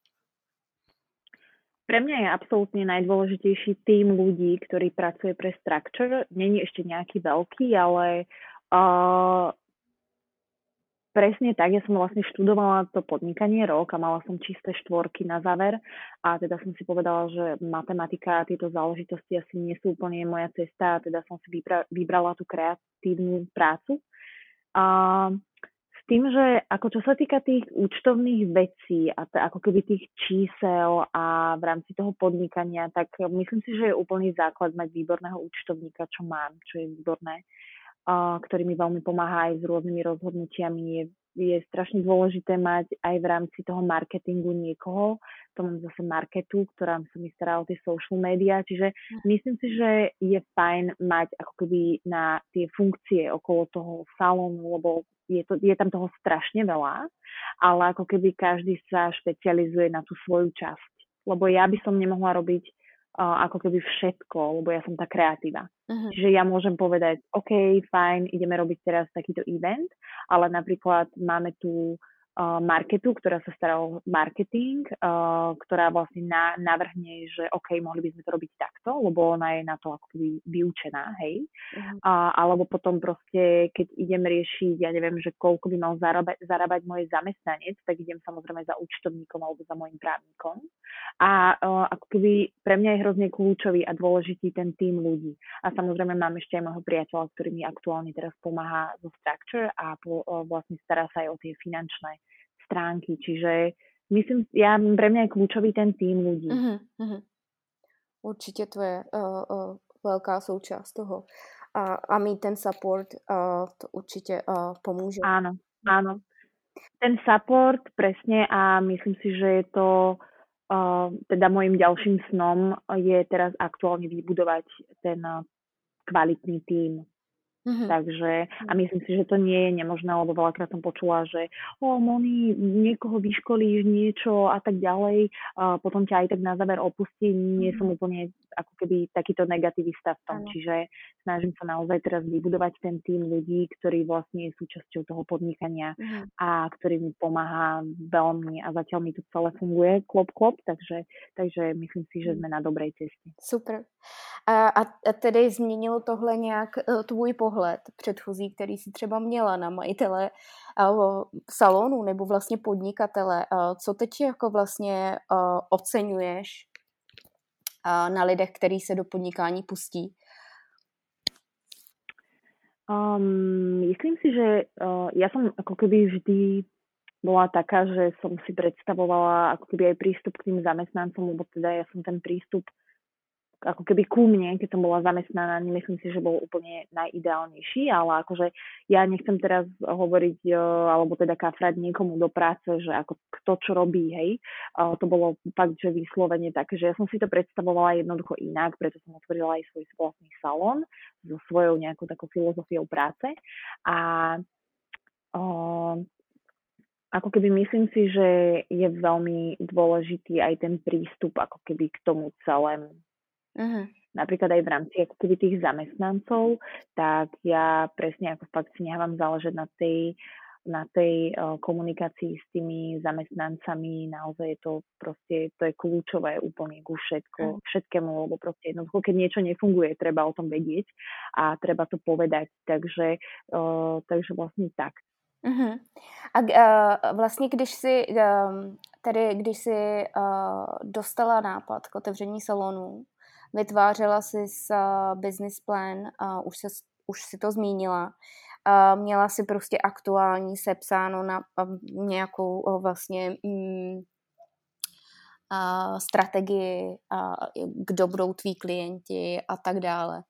Pre mňa je absolútne najdôležitejší tým ľudí, ktorý pracuje pre Structure. Není ešte nejaký veľký, ale uh, presne tak. Ja som vlastne študovala to podnikanie rok a mala som čisté štvorky na záver a teda som si povedala, že matematika a tieto záležitosti asi nie sú úplne moja cesta a teda som si vybra- vybrala tú kreatívnu prácu. Uh, tým, že ako čo sa týka tých účtovných vecí a t- ako keby tých čísel a v rámci toho podnikania, tak myslím si, že je úplný základ mať výborného účtovníka, čo mám, čo je výborné, uh, ktorý mi veľmi pomáha aj s rôznymi rozhodnutiami. Je, je strašne dôležité mať aj v rámci toho marketingu niekoho, to mám zase marketu, ktorá sa mi stará o tie social media, čiže myslím si, že je fajn mať ako keby na tie funkcie okolo toho salónu, lebo je, to, je tam toho strašne veľa, ale ako keby každý sa špecializuje na tú svoju časť, lebo ja by som nemohla robiť uh, ako keby všetko, lebo ja som tá kreatíva. Uh-huh. Čiže ja môžem povedať, OK, fajn, ideme robiť teraz takýto event, ale napríklad máme tu uh, marketu, ktorá sa stará o marketing, uh, ktorá vlastne na, navrhne, že OK, mohli by sme to robiť takto, lebo ona je na to ako keby vyučená, hej. Uh-huh. Uh, alebo potom proste, keď idem riešiť, ja neviem, že koľko by mal zarábať, zarábať môj zamestnanec, tak idem samozrejme za účtovníkom alebo za môjim právnikom. A uh, ako keby pre mňa je hrozne kľúčový a dôležitý ten tím ľudí. A samozrejme mám ešte aj môjho priateľa, ktorý mi aktuálne teraz pomáha zo Structure a po, uh, vlastne stará sa aj o tie finančné stránky. Čiže myslím, ja, pre mňa je kľúčový ten tím ľudí. Uh-huh, uh-huh. Určitě to je uh, uh, velká součást toho. A, a mít ten support, uh, to určitě uh, pomůže. Áno, áno. Ten support, presne, a myslím si, že je to uh, teda môjim ďalším snom je teraz aktuálne vybudovať ten uh, kvalitný tím. Mm-hmm. Takže, a myslím si, že to nie je nemožné, lebo veľakrát som počula, že o, Moni, niekoho vyškolíš, niečo a tak ďalej, a potom ťa aj tak na záver opustí. Nie mm-hmm. som úplne ako keby takýto negativista v tom, ano. Čiže snažím sa naozaj teraz vybudovať ten tím ľudí, ktorí vlastne je súčasťou toho podnikania mm-hmm. a ktorý mi pomáha veľmi a zatiaľ mi to celé funguje, klop, klop, takže, takže myslím si, že sme na dobrej ceste. Super. A, a tedy změnilo tohle nějak tvůj pohled předchozí, který si třeba měla na majitele salonu nebo vlastně podnikatele? Co teď jako vlastně oceňuješ na lidech, který se do podnikání pustí? Um, myslím si, že uh, ja som ako keby vždy bola taká, že som si predstavovala ako keby aj prístup k tým zamestnancom, lebo teda ja som ten prístup ako keby ku mne, keď som bola zamestnaná, nemyslím si, že bol úplne najideálnejší, ale akože ja nechcem teraz hovoriť, alebo teda kafrať niekomu do práce, že ako kto čo robí, hej. To bolo fakt, že vyslovene také, že ja som si to predstavovala jednoducho inak, preto som otvorila aj svoj vlastný salón so svojou nejakou takou filozofiou práce a o, ako keby myslím si, že je veľmi dôležitý aj ten prístup ako keby k tomu celému. Uh-huh. Napríklad aj v rámci ako keby tých zamestnancov, tak ja presne ako fakt si nechávam záležať na tej, na tej uh, komunikácii s tými zamestnancami, naozaj je to proste, to je kľúčové úplne ku všetko, uh-huh. všetkému, lebo proste jednoducho, keď niečo nefunguje, treba o tom vedieť a treba to povedať, takže, uh, takže vlastne tak. Uh-huh. A uh, vlastně když si um, tedy když si uh, dostala nápad k otevření salonu, vytvářela si s uh, business plan, uh, už, se, už si to zmínila, uh, měla si prostě aktuální sepsáno na uh, nějakou uh, vlastně um, uh, strategii, uh, kdo budou tví klienti a tak dále.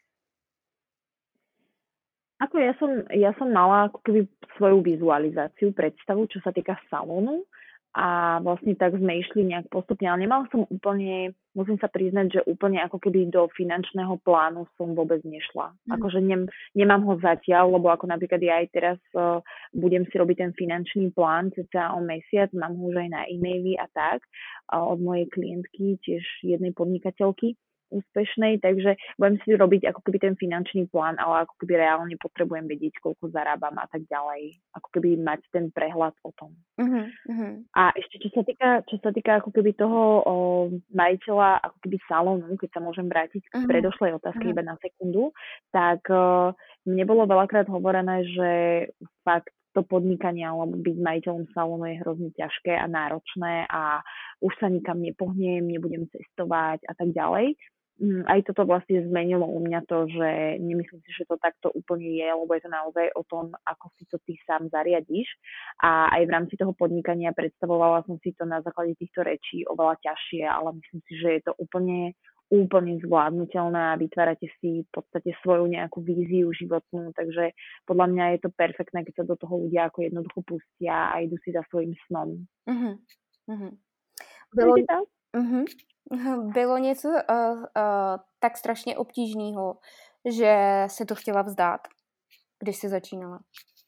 Ako ja som, ja som mala ako keby svoju vizualizáciu, predstavu, čo sa týka salónu a vlastne tak sme išli nejak postupne, ale nemala som úplne, musím sa priznať, že úplne ako keby do finančného plánu som vôbec nešla. Mm. Akože nem, nemám ho zatiaľ, lebo ako napríklad ja aj teraz uh, budem si robiť ten finančný plán cca o mesiac, mám ho už aj na e-maily a tak uh, od mojej klientky, tiež jednej podnikateľky úspešnej, takže budem si robiť ako keby ten finančný plán, ale ako keby reálne potrebujem vedieť, koľko zarábam a tak ďalej. Ako keby mať ten prehľad o tom. Uh-huh, uh-huh. A ešte čo sa týka, čo sa týka ako keby toho o, majiteľa, ako keby salónu, keď sa môžem vrátiť k uh-huh. predošlej otázke uh-huh. iba na sekundu, tak uh, mne bolo veľakrát hovorené, že fakt to podnikanie alebo byť majiteľom salónu je hrozne ťažké a náročné a už sa nikam nepohnem, nebudem cestovať a tak ďalej. Aj toto vlastne zmenilo u mňa to, že nemyslím si, že to takto úplne je, lebo je to naozaj o tom, ako si to ty sám zariadiš. A aj v rámci toho podnikania predstavovala som si to na základe týchto rečí oveľa ťažšie, ale myslím si, že je to úplne, úplne zvládnutelné a vytvárate si v podstate svoju nejakú víziu životnú, takže podľa mňa je to perfektné, keď sa do toho ľudia ako jednoducho pustia a idú si za svojím snom. Uh-huh. Uh-huh. Bylo, uh-huh. bylo něco uh, uh, tak strašně obtížného, že se to chtěla vzdát, když si začínala?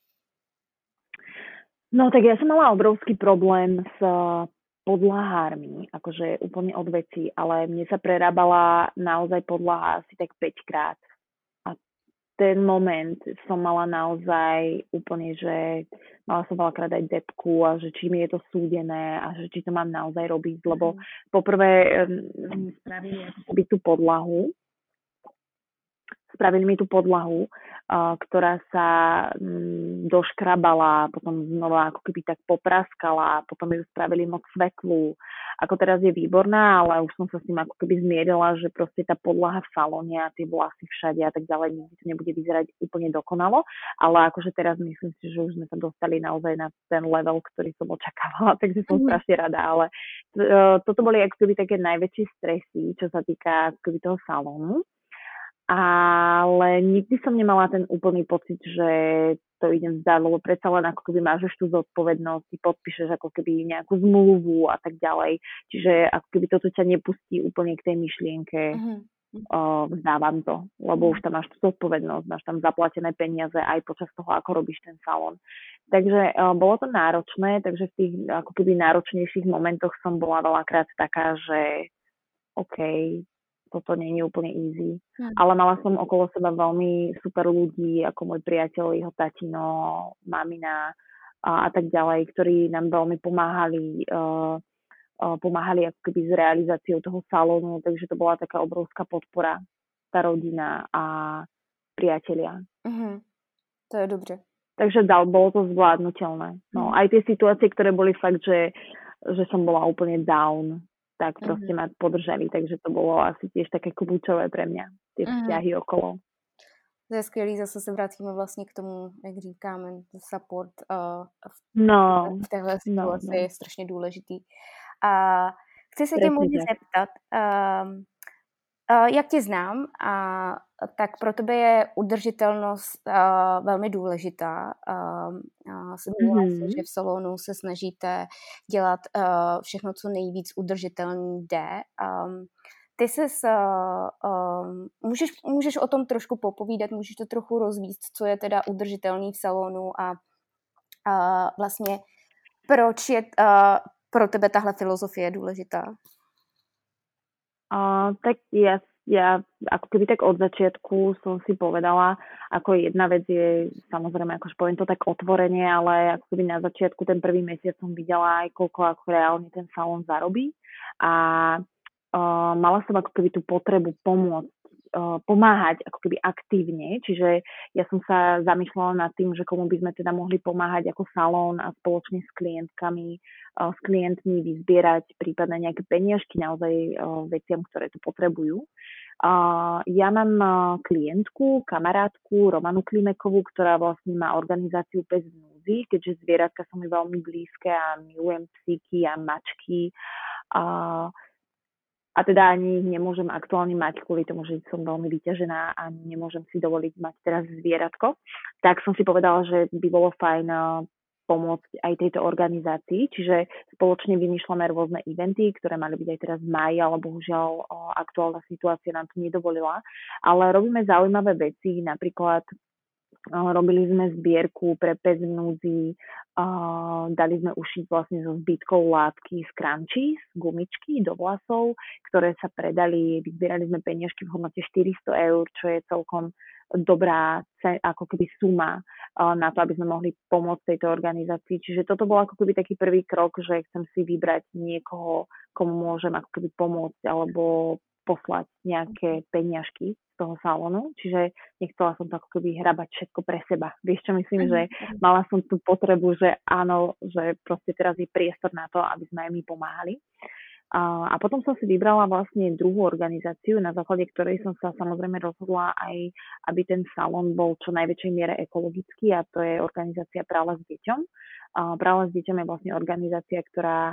No tak ja som mala obrovský problém s podlahármi, akože úplne od veci, ale mne sa prerábala naozaj podlaha asi tak päť krát. A ten moment som mala naozaj úplne, že mala som veľakrát aj depku a že či mi je to súdené a že či to mám naozaj robiť, lebo poprvé um, spravili by tú podlahu, spravili mi tú podlahu, uh, ktorá sa um, doškrabala, potom znova ako keby tak popraskala, potom ju spravili moc svetlú. Ako teraz je výborná, ale už som sa s tým ako keby zmierila, že proste tá podlaha v salóne a tie vlasy všade a tak ďalej, nikdy to nebude vyzerať úplne dokonalo, ale akože teraz myslím si, že už sme sa dostali naozaj na ten level, ktorý som očakávala, takže som mm. strašne rada, ale uh, toto boli ako keby také najväčšie stresy, čo sa týka ako keby toho salónu. Ale nikdy som nemala ten úplný pocit, že to idem vzdať, lebo predsa len ako keby máš tú zodpovednosť, ty podpíšeš ako keby nejakú zmluvu a tak ďalej. Čiže ako keby toto ťa nepustí úplne k tej myšlienke, uh-huh. uh, vzdávam to, lebo uh-huh. už tam máš tú zodpovednosť, máš tam zaplatené peniaze aj počas toho, ako robíš ten salón. Takže uh, bolo to náročné, takže v tých ako keby náročnejších momentoch som bola veľakrát taká, že OK, toto nie je úplne easy. Hmm. Ale mala som okolo seba veľmi super ľudí, ako môj priateľ, jeho tatino, mamina a, a tak ďalej, ktorí nám veľmi pomáhali, uh, uh, pomáhali ako keby s realizáciou toho salónu, takže to bola taká obrovská podpora, tá rodina a priatelia. Uh-huh. To je dobře. Takže dal, bolo to zvládnutelné. No, hmm. Aj tie situácie, ktoré boli fakt, že, že som bola úplne down, tak proste uh-huh. ma podržali, takže to bolo asi tiež také kľúčové pre mňa, tie vzťahy uh-huh. okolo. To je skvělý, zase se vrátíme vlastně k tomu, jak říkáme, support uh, v, no, v téhle situaci no, no. je strašně důležitý. A chci se tě můžu zeptat, uh, uh, jak tě znám, a tak pro tebe je udržitelnost uh, velmi důležitá. Uh, uh, Zmínila mm-hmm. si, že v salonu se snažíte dělat uh, všechno, co nejvíc udržitelný jde. Um, ty ses, uh, um, můžeš, můžeš o tom trošku popovídat, můžeš to trochu rozvíct, co je teda udržitelný v salonu a uh, vlastně proč je uh, pro tebe tahle filozofie důležitá? Uh, tak ja Ja ako keby tak od začiatku som si povedala, ako jedna vec je, samozrejme, akože poviem to tak otvorene, ale ako keby na začiatku ten prvý mesiac som videla aj koľko ako reálne ten salón zarobí a uh, mala som ako keby tú potrebu pomôcť, uh, pomáhať ako keby aktívne, čiže ja som sa zamýšľala nad tým, že komu by sme teda mohli pomáhať ako salón a spoločne s klientkami, uh, s klientmi vyzbierať prípadne nejaké peniažky naozaj uh, veciam, ktoré to potrebujú. Uh, ja mám uh, klientku, kamarátku Romanu Klimekovú, ktorá vlastne má organizáciu Pes v núdzi, keďže zvieratka sú mi veľmi blízke a milujem psíky a mačky. Uh, a teda ani ich nemôžem aktuálne mať kvôli tomu, že som veľmi vyťažená a nemôžem si dovoliť mať teraz zvieratko. Tak som si povedala, že by bolo fajn uh, pomôcť aj tejto organizácii, čiže spoločne vymýšľame rôzne eventy, ktoré mali byť aj teraz v máji, ale bohužiaľ o, aktuálna situácia nám to nedovolila. Ale robíme zaujímavé veci, napríklad o, robili sme zbierku pre Pes v núdzi, o, dali sme ušiť vlastne so zbytkov látky z crunchies, gumičky do vlasov, ktoré sa predali, vyzbierali sme peniažky v hodnote štyristo eur, čo je celkom dobrá ako keby suma na to, aby sme mohli pomôcť tejto organizácii. Čiže toto bol ako keby taký prvý krok, že chcem si vybrať niekoho, komu môžem ako keby pomôcť alebo poslať nejaké peniažky z toho salónu. Čiže nechcela som to ako keby hrabať všetko pre seba. Vieš čo myslím, že mala som tú potrebu, že áno, že proste teraz je priestor na to, aby sme aj my pomáhali. A potom som si vybrala vlastne druhú organizáciu, na základe ktorej som sa samozrejme rozhodla aj, aby ten salón bol čo najväčšej miere ekologický, a to je organizácia Prála s deťom. Prála s deťom je vlastne organizácia, ktorá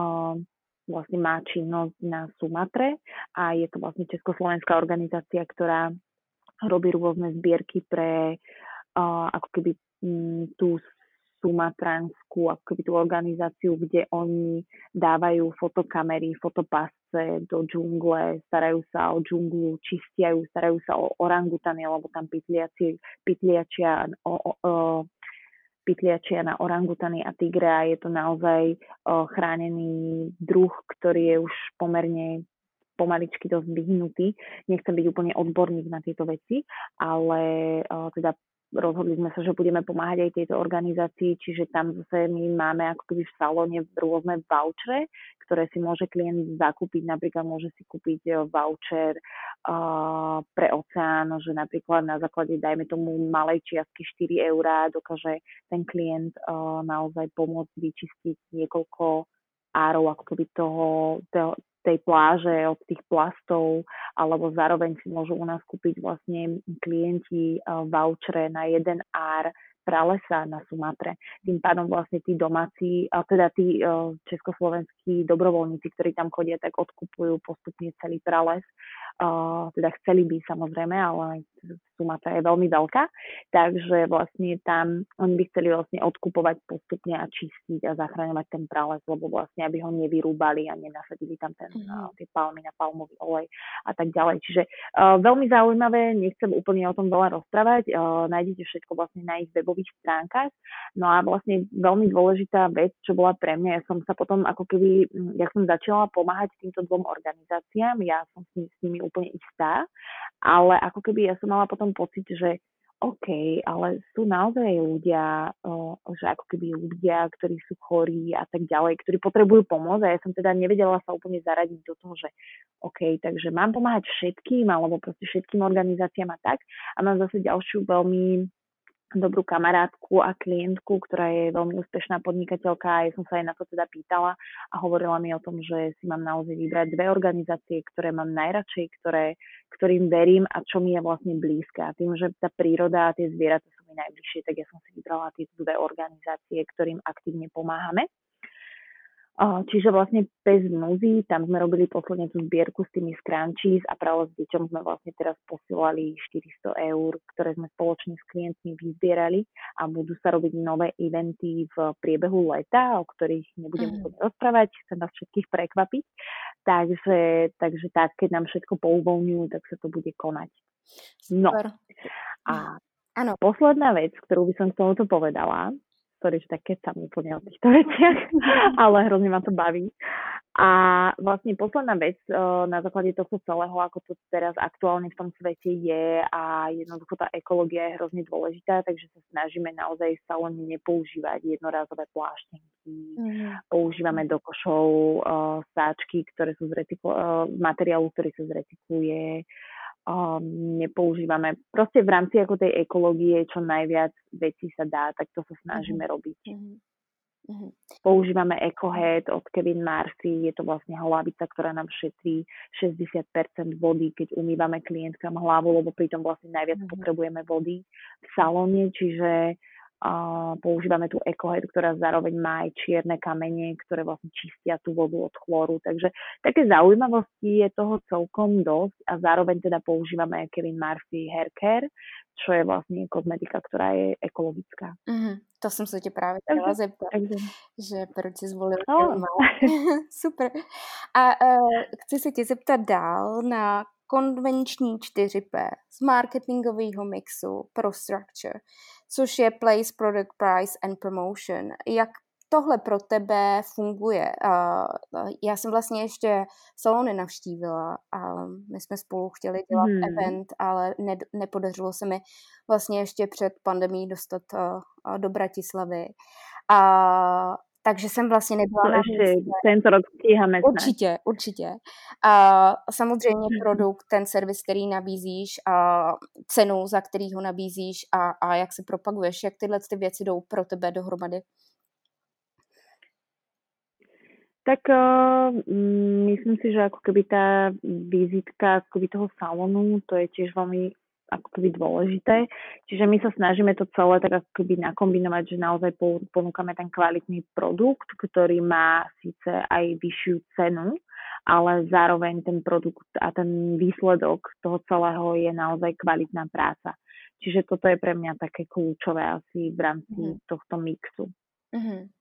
vlastne má činnosť na Sumatre a je to vlastne československá organizácia, ktorá robí rôzne zbierky pre ako keby tú sumatranskú takú ako keby tú organizáciu, kde oni dávajú fotokamery, fotopasce do džungle, starajú sa o džunglu, čistiajú, starajú sa o orangutany, lebo tam pytliaci, pytliačia o, o, o pytliačia na orangutany a tigre a je to naozaj o, chránený druh, ktorý je už pomerne pomaličky dosť vyhnutý. Nechcem byť úplne odborník na tieto veci, ale o, teda rozhodli sme sa, že budeme pomáhať aj tejto organizácii, čiže tam zase my máme ako keby v salóne rôzne vouchere, ktoré si môže klient zakúpiť. Napríklad môže si kúpiť voucher uh, pre oceán, že napríklad na základe, dajme tomu, malej čiastky štyri eurá dokáže ten klient uh, naozaj pomôcť vyčistiť niekoľko árov ako keby toho, toho tej pláže od tých plastov, alebo zároveň si môžu u nás kúpiť vlastne klienti uh, vouchere na jeden ár pralesa na Sumatre. Tým pádom vlastne tí domáci, a teda tí uh, československí dobrovoľníci, ktorí tam chodia, tak odkupujú postupne celý prales. Uh, teda chceli by samozrejme, ale Sumatra je veľmi veľká, takže vlastne tam oni by chceli vlastne odkupovať postupne a čistiť a zachraňovať ten prales, lebo vlastne aby ho nevyrúbali a nenasadili tam ten, mm-hmm. uh, tie palmy na palmový olej a tak ďalej. Čiže uh, veľmi zaujímavé, nechcem úplne o tom veľa rozprávať, uh, nájdete všetko vlastne na ich webových stránkach. No a vlastne veľmi dôležitá vec, čo bola pre mňa, ja som sa potom ako keby, ja som začala pomáhať týmto dvom organizáciám, ja som s, s nimi úplne istá, ale ako keby ja som mala potom pocit, že OK, ale sú naozaj ľudia, o, že ako keby ľudia, ktorí sú chorí a tak ďalej, ktorí potrebujú pomôcť a ja som teda nevedela sa úplne zaradiť do toho, že OK, takže mám pomáhať všetkým alebo proste všetkým organizáciám a tak a mám zase ďalšiu veľmi dobrú kamarátku a klientku, ktorá je veľmi úspešná podnikateľka a ja som sa aj na to teda pýtala a hovorila mi o tom, že si mám naozaj vybrať dve organizácie, ktoré mám najradšej, ktoré, ktorým verím a čo mi je vlastne blízke. A tým, že tá príroda a tie zvieratá sú mi najbližšie, tak ja som si vybrala tieto dve organizácie, ktorým aktívne pomáhame. Čiže vlastne Pes v núdzi, tam sme robili posledne tú zbierku s tými scrunchies a práve s deťom sme vlastne teraz posielali štyristo eur, ktoré sme spoločne s klientmi vyzbierali a budú sa robiť nové eventy v priebehu leta, o ktorých nebudem úplne mm. rozprávať, chcem vás všetkých prekvapiť. Takže, takže tak, keď nám všetko pouvoľňujú, tak sa to bude konať. No. Super. A ano. Posledná vec, ktorú by som k tomuto povedala, ktorý že tak keď sa mi úplne o týchto veciach, ale hrozne ma to baví. A vlastne posledná vec na základe tohto celého, ako to teraz aktuálne v tom svete je a jednoducho tá ekológia je hrozne dôležitá, takže sa snažíme naozaj v salóne nepoužívať jednorázové pláštenky, mm. používame do košov uh, sáčky, ktoré sú z recykl- uh, materiálu, ktorý sa zrecykluje, Um, nepoužívame. Proste v rámci ako tej ekológie čo najviac vecí sa dá, tak to sa snažíme mm-hmm. robiť. Mm-hmm. Používame EcoHead od Kevin Marcy, je to vlastne hlavica, ktorá nám šetrí šesťdesiat percent vody, keď umývame klientkám hlavu, lebo pritom vlastne najviac mm-hmm. potrebujeme vody v salóne, čiže Uh, používame tú EcoHead, ktorá zároveň má aj čierne kamene, ktoré vlastne čistia tú vodu od chlóru. Takže také zaujímavosti je toho celkom dosť a zároveň teda používame Kevin Marcy Hair Care, čo je vlastne kozmetika, ktorá je ekologická. Mm-hmm. To jsem se tě právě chtěla zeptat, takže, že proč jsi zvolil no. Super. A uh, chci se tě zeptat dál na konvenční čtyři P z marketingového mixu pro structure, což je place, product, price and promotion. Jak tohle pro tebe funguje? Uh, já jsem vlastně ještě salony navštívila a my jsme spolu chtěli dělat hmm. event, ale ne, nepodařilo se mi vlastně ještě před pandemií dostat uh, do Bratislavy. A takže jsem vlastně nebyla no, na místě. Tento rok stíháme. Určitě, určitě. A samozřejmě produkt, ten servis, který nabízíš, a cenu, za který ho nabízíš a, a jak se propaguješ, jak tyhle ty věci jdou pro tebe dohromady? Tak uh, myslím si, že ako keby tá vizitka ako keby toho salónu, to je tiež veľmi ako keby dôležité. Čiže my sa snažíme to celé tak ako keby nakombinovať, že naozaj ponúkame ten kvalitný produkt, ktorý má síce aj vyššiu cenu, ale zároveň ten produkt a ten výsledok toho celého je naozaj kvalitná práca. Čiže toto je pre mňa také kľúčové asi v rámci mm. tohto mixu. Mm-hmm.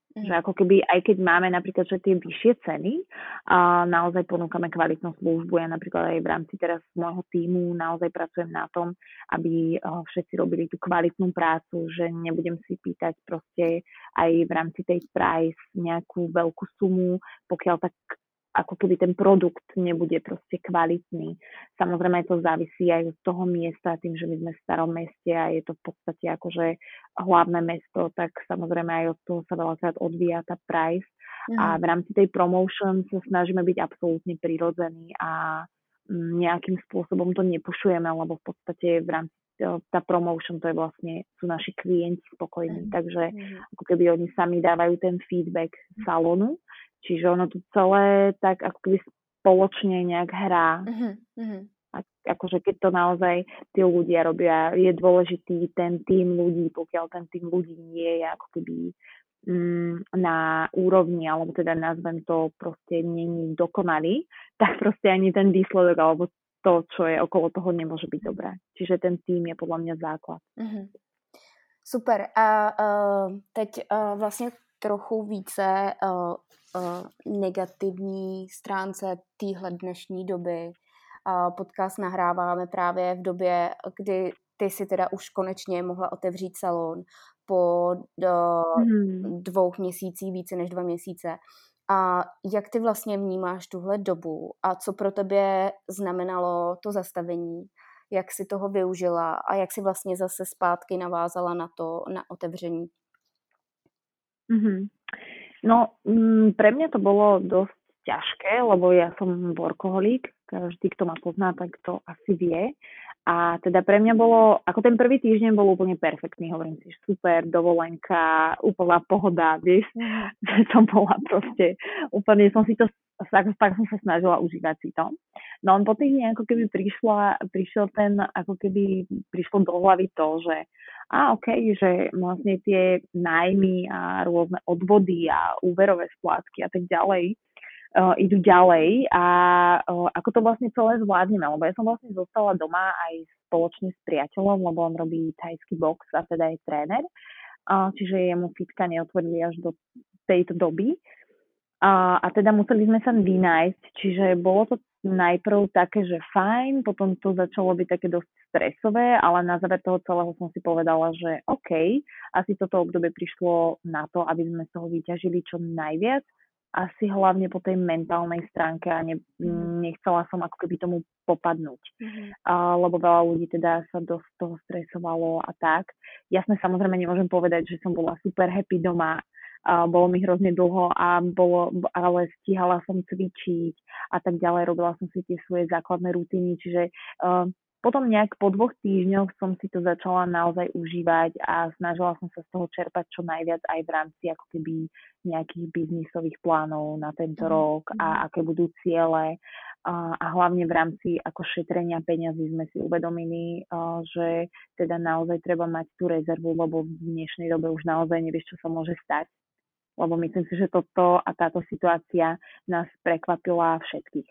Že ako keby, aj keď máme napríklad, že tie vyššie ceny, a naozaj ponúkame kvalitnú službu. Ja napríklad aj v rámci teraz môjho tímu naozaj pracujem na tom, aby všetci robili tú kvalitnú prácu, že nebudem si pýtať proste aj v rámci tej price nejakú veľkú sumu, pokiaľ tak ako keby ten produkt nebude proste kvalitný. Samozrejme to závisí aj od toho miesta, tým, že my sme v starom meste a je to v podstate akože hlavné mesto, tak samozrejme aj od toho sa veľakrát odvíja tá price. Mm. A v rámci tej promotion sa snažíme byť absolútne prirodzení a nejakým spôsobom to nepušujeme, lebo v podstate v rámci tá promotion, to je vlastne, sú naši klienti spokojní, mm. takže mm. ako keby oni sami dávajú ten feedback salónu. Čiže ono tu celé tak ako keby spoločne nejak hrá. Uh-huh. A, akože keď to naozaj tí ľudia robia, je dôležitý ten tým ľudí, pokiaľ ten tým ľudí nie je ako keby mm, na úrovni, alebo teda nazvem to proste není dokonalý, tak proste ani ten výsledok, alebo to, čo je okolo toho, nemôže byť dobré. Čiže ten tým je podľa mňa základ. Uh-huh. Super. A uh, teď uh, vlastně trochu více uh, uh, negativní stránce téhle dnešní doby. Uh, podcast nahráváme právě v době, kdy ty si teda už konečně mohla otevřít salon po uh, hmm. dvou měsících, více než dva měsíce. A jak ty vlastně vnímáš tuhle dobu a co pro tebe znamenalo to zastavení? Jak si toho využila a jak si vlastně zase zpátky navázala na to, na otevření? Mm-hmm. No, m, pre mňa to bolo dosť ťažké, lebo ja som workoholík, každý, kto ma pozná, tak to asi vie. A teda pre mňa bolo, ako ten prvý týždeň bol úplne perfektný, hovorím si, super, dovolenka, úplná pohoda, vieš, že som bola proste, úplne som si to, tak, tak som sa snažila užívať si to. No on po týždni ako keby prišla, prišiel ten, ako keby prišlo do hlavy to, že a okej, okay, že vlastne tie nájmy a rôzne odvody a úverové splátky a tak ďalej uh, idú ďalej a uh, ako to vlastne celé zvládneme, lebo ja som vlastne zostala doma aj spoločne s priateľom, lebo on robí thajský box a teda je tréner, uh, čiže jemu fitka neotvorili až do tejto doby. A, a teda museli sme sa vynájsť, čiže bolo to najprv také, že fajn, potom to začalo byť také dosť stresové, ale na záver toho celého som si povedala, že OK, asi toto obdobie prišlo na to, aby sme z toho vyťažili čo najviac, asi hlavne po tej mentálnej stránke a ne, nechcela som ako keby tomu popadnúť, mm-hmm. a, lebo veľa ľudí teda sa dosť toho stresovalo a tak. Jasne, samozrejme nemôžem povedať, že som bola super happy doma. Uh, bolo mi hrozne dlho a bolo, ale stíhala som cvičiť a tak ďalej, robila som si tie svoje základné rutiny, čiže uh, potom nejak po dvoch týždňoch som si to začala naozaj užívať a snažila som sa z toho čerpať čo najviac aj v rámci ako keby nejakých biznisových plánov na tento mm. rok a aké budú ciele uh, a hlavne v rámci ako šetrenia peňazí sme si uvedomili, uh, že teda naozaj treba mať tú rezervu, lebo v dnešnej dobe už naozaj nevieš, čo sa môže stať. Lebo myslím si, že toto a táto situácia nás prekvapila všetkých.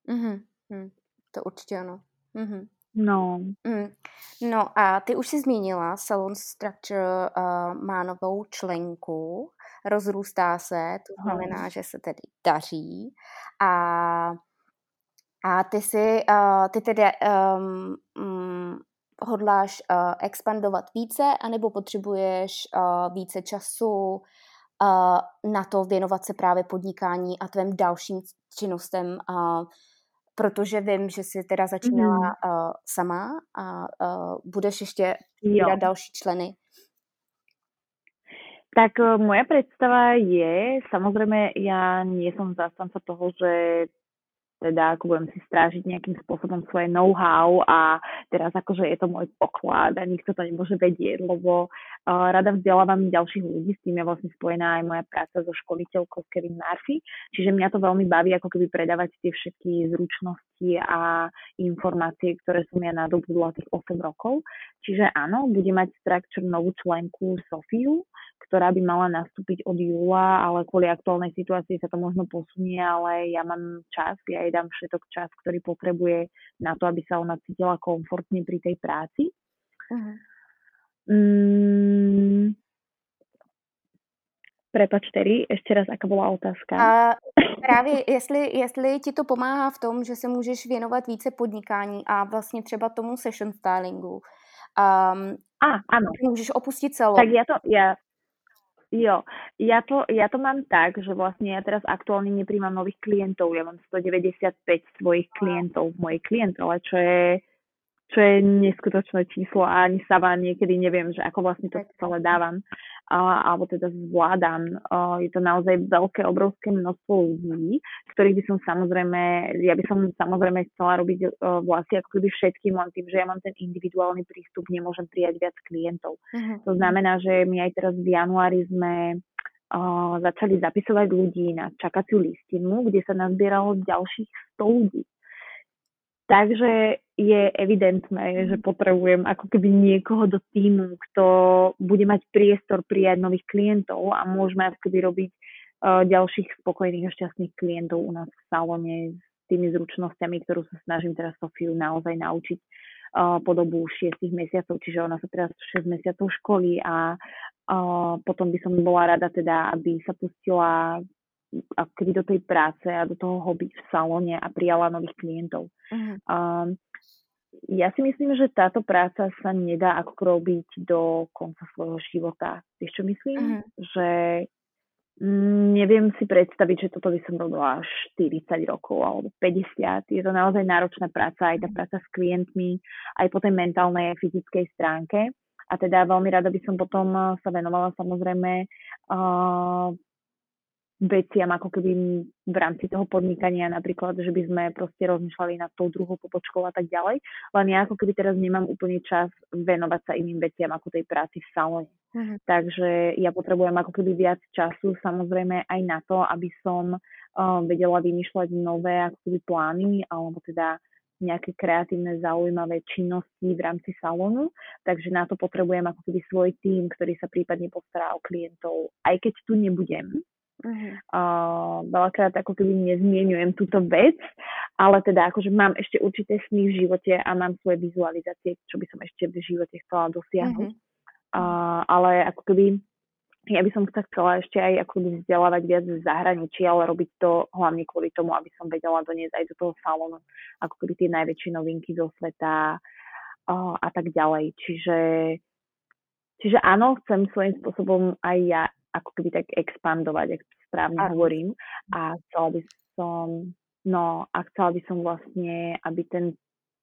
Mm-hmm. To určitě ano. Mm-hmm. No. Mm. No a ty už si zmínila, Salon Structure uh, má novou členku, rozrůstá se, to znamená, hmm. že se tedy daří. A, a ty si, uh, ty tedy um, um, hodláš uh, expandovat více, anebo potřebuješ uh, více času Uh, na to věnovat se právě podnikání a tvým dalším činnostem, uh, protože vím, že jsi teda začínala mm. uh, sama a uh, budeš ještě vydat další členy. Tak uh, moja predstava je, samozrejme ja nie som zástanca toho, že teda ako budem si strážiť nejakým spôsobom svoje know-how a teraz akože je to môj poklad a nikto to nemôže vedieť, lebo uh, rada vzdelávam ďalších ľudí, s tým je vlastne spojená aj moja práca so školiteľkou Kevin Murphy, čiže mňa to veľmi baví ako keby predávať tie všetky zručnosti a informácie, ktoré som ja nadobudla tých osem rokov. Čiže áno, bude mať Structure novú členku Sofiu, ktorá by mala nastúpiť od júla, ale kvôli aktuálnej situácii sa to možno posunie, ale ja mám čas, ja jej dám všetok čas, ktorý potrebuje na to, aby sa ona cítila komfortne pri tej práci. Uh-huh. Mm, Prepač, Terry, ešte raz, aká bola otázka? A právě jestli, jestli ti to pomáhá v tom, že se můžeš věnovat více podnikání a vlastně třeba tomu session stylingu. Um, Á, áno. Můžeš opustit celou. Tak ja to, ja, jo, ja to, ja to mám tak, že vlastne ja teraz aktuálne nepríjmam nových klientov. Ja mám stodeväťdesiatpäť svojich klientov v mojej klientele, čo je čo je neskutočné číslo a ani sama niekedy neviem, že ako vlastne to celé dávam a, alebo teda zvládam. A, je to naozaj veľké, obrovské množstvo ľudí, ktorých by som samozrejme, ja by som samozrejme chcela robiť uh, vlastne ako keby všetkým, len tým, že ja mám ten individuálny prístup, nemôžem prijať viac klientov. Mm-hmm. To znamená, že my aj teraz v januári sme uh, začali zapisovať ľudí na čakaciu listinu, kde sa nazbieralo ďalších sto ľudí. Takže je evidentné, že potrebujem ako keby niekoho do týmu, kto bude mať priestor prijať nových klientov a môžeme ako keby robiť uh, ďalších spokojných a šťastných klientov u nás v salóne s tými zručnosťami, ktorú sa snažím teraz Sofiu naozaj naučiť uh, po dobu šiestich mesiacov, čiže ona sa teraz šesť mesiacov školí a uh, potom by som bola rada teda, aby sa pustila ako keby do tej práce a do toho hobby v salóne a prijala nových klientov. Uh-huh. Um, ja si myslím, že táto práca sa nedá ako robiť do konca svojho života. Vieš, čo myslím? Uh-huh. Že mm, neviem si predstaviť, že toto by som robila štyridsať rokov alebo päťdesiat. Je to naozaj náročná práca, aj tá práca s klientmi, aj po tej mentálnej a fyzickej stránke. A teda veľmi rada by som potom sa venovala samozrejme uh, veciam ako keby v rámci toho podnikania, napríklad, že by sme proste rozmýšľali nad tou druhou pobočkou a tak ďalej. Len ja ako keby teraz nemám úplne čas venovať sa iným veciam ako tej práci v salóne. Uh-huh. Takže ja potrebujem ako keby viac času, samozrejme aj na to, aby som uh, vedela vymýšľať nové ako keby plány, alebo teda nejaké kreatívne zaujímavé činnosti v rámci salónu. Takže na to potrebujem ako keby svoj tím, ktorý sa prípadne postará o klientov. Aj keď tu nebudem, Uh-huh. Uh, veľakrát ako keby nezmieňujem túto vec, ale teda akože mám ešte určité sny v živote a mám svoje vizualizácie, čo by som ešte v živote chcela dosiahnuť. Uh-huh. Uh, ale ako keby ja by som sa chcela ešte aj ako keby vzdelávať viac v zahraničí, ale robiť to hlavne kvôli tomu, aby som vedela doniesť aj do toho salónu ako keby tie najväčšie novinky zo sveta uh, a tak ďalej. Čiže, čiže áno, chcem svojím spôsobom aj ja ako keby tak expandovať, ak správne a hovorím. A chcela by som, no a chcela by som vlastne, aby ten,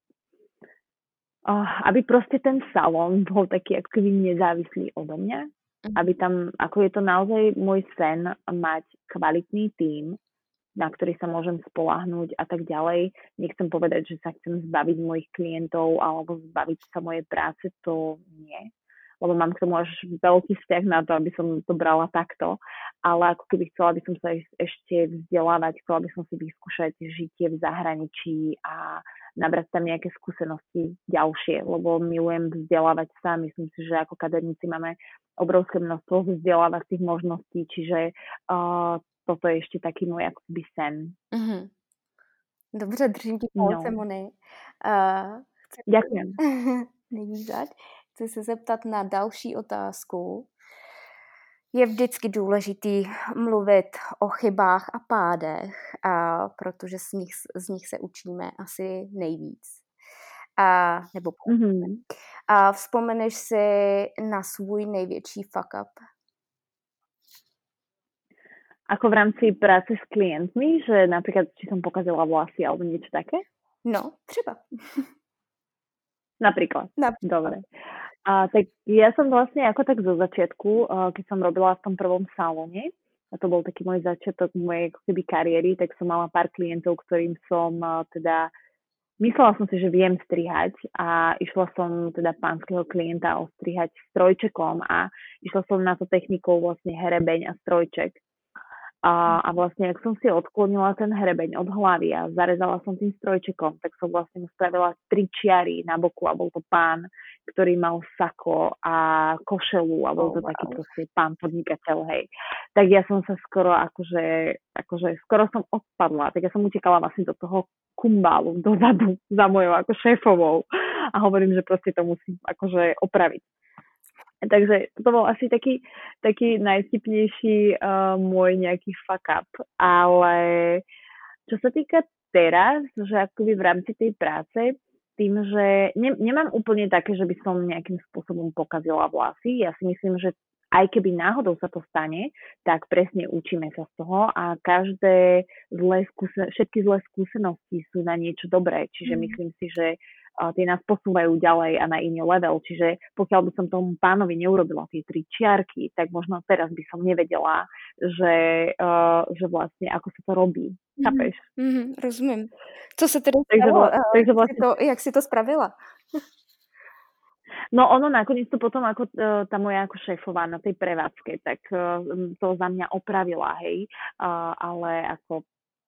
uh, aby proste ten salón bol taký ako keby nezávislý odo mňa. Mm. Aby tam, ako je to naozaj môj sen, mať kvalitný tím, na ktorý sa môžem spoľahnúť a tak ďalej. Nechcem povedať, že sa chcem zbaviť mojich klientov alebo zbaviť sa mojej práce, to nie. Lebo mám k tomu až veľký vzťah na to, aby som to brala takto. Ale ako keby chcela by som sa ešte vzdelávať, chcela by som si vyskúšať žitie v zahraničí a nabrať tam nejaké skúsenosti ďalšie, lebo milujem vzdelávať sa. Myslím si, že ako kaderníci máme obrovské množstvo vzdelávacích možností, čiže uh, toto je ešte taký môj akoby sen. Mm-hmm. Dobře, držím ti palce, no. Moni. Uh, chci... Ďakujem. Nevízať. Chci se zeptat na další otázku. Je vždycky důležitý mluvit o chybách a pádech, a protože z nich, z nich se učíme asi nejvíc. A, nebo mm-hmm. A vzpomeneš si na svůj největší fuck up? Ako v rámci práce s klientmi, že napríklad, či som pokazila vlasy alebo niečo také? No, třeba. Napríklad. Napríklad. Dobre. A tak ja som vlastne ako tak zo začiatku, keď som robila v tom prvom salóne, a to bol taký môj začiatok mojej ako keby kariéry, tak som mala pár klientov, ktorým som teda, myslela som si, že viem strihať a išla som teda pánskeho klienta ostrihať strojčekom a išla som na to technikou vlastne herebeň a strojček. A, a vlastne, ak som si odklonila ten hrebeň od hlavy a zarezala som tým strojčekom, tak som vlastne mu spravila tri čiary na boku a bol to pán, ktorý mal sako a košelu a bol to oh, wow. taký proste pán podnikateľ, hej. Tak ja som sa skoro akože, akože skoro som odpadla, tak ja som utekala vlastne do toho kumbálu, dozadu za mojou ako šéfovou a hovorím, že proste to musím akože opraviť. Takže to bol asi taký, taký najvtipnejší uh, môj nejaký fuck up. Ale čo sa týka teraz, že akoby v rámci tej práce, tým, že ne, nemám úplne také, že by som nejakým spôsobom pokazila vlasy. Ja si myslím, že aj keby náhodou sa to stane, tak presne učíme sa z toho a každé zlé skúsen- všetky zlé skúsenosti sú na niečo dobré. Čiže mm. myslím si, že uh, tie nás posúvajú ďalej a na iný level. Čiže pokiaľ by som tomu pánovi neurobila tie tri čiarky, tak možno teraz by som nevedela, že, uh, že vlastne ako sa to robí. Chápeš? Mm-hmm, rozumím. Co se tedy takže stalo? Vla, takže vlastne... jak, si to, jak si to spravila? No ono nakoniec to potom ako uh, tá moja ako šéfová na tej prevádzke, tak uh, to za mňa opravila, hej, uh, ale ako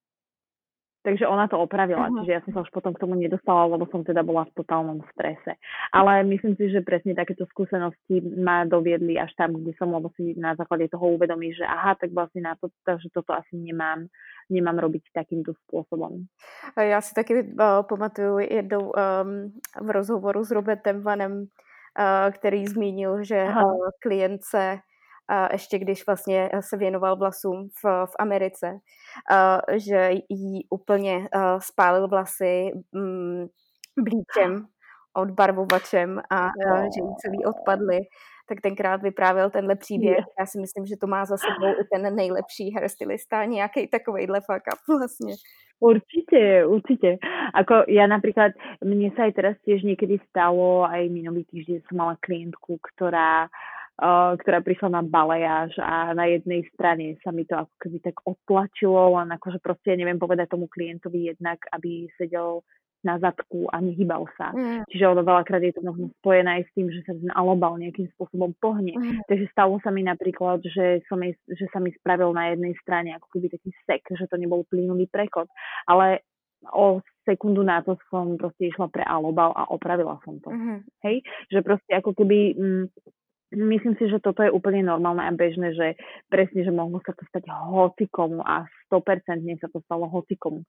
takže ona to opravila, uh-huh. čiže ja som sa už potom k tomu nedostala, lebo som teda bola v totálnom strese. Ale myslím si, že presne takéto skúsenosti ma doviedli až tam, kde som, lebo si na základe toho uvedomí, že aha, tak vlastne na to, takže toto asi nemám, nemám robiť takýmto spôsobom. Já si taky uh, pamatuju jednou um, v rozhovoru s Robertem Vanem, uh, který zmínil, že uh, klientce a ještě když vlastně se věnoval vlasům v, v Americe, uh, že jí úplně uh, spálil vlasy um, blíčem, odbarvovačem a uh, že jí celý odpadly, tak tenkrát vyprávěl tenhle příběh. Já si myslím, že to má za sebou i ten nejlepší hairstylista, nějaký takovejhle fuck up vlastně. Určite, určite. Ako ja napríklad, mne sa aj teraz tiež niekedy stalo, aj minulý týždeň som mala klientku, ktorá Uh, ktorá prišla na balejáž a na jednej strane sa mi to ako keby tak odtlačilo, len akože proste neviem povedať tomu klientovi jednak, aby sedel na zadku a nehýbal sa. Mm. Čiže ono veľakrát je to možno spojené aj s tým, že sa ten alobal nejakým spôsobom pohne. Mm. Takže stalo sa mi napríklad, že, som jej, že sa mi spravil na jednej strane ako keby taký sek, že to nebol plynulý prechod. Ale o sekundu na to som proste išla pre alobal a opravila som to. Mm. Hej? Že proste ako keby... Mm, myslím si, že toto je úplne normálne a bežné, že presne, že mohlo sa to stať hocikomu a sto percent sa to stalo hocikomu.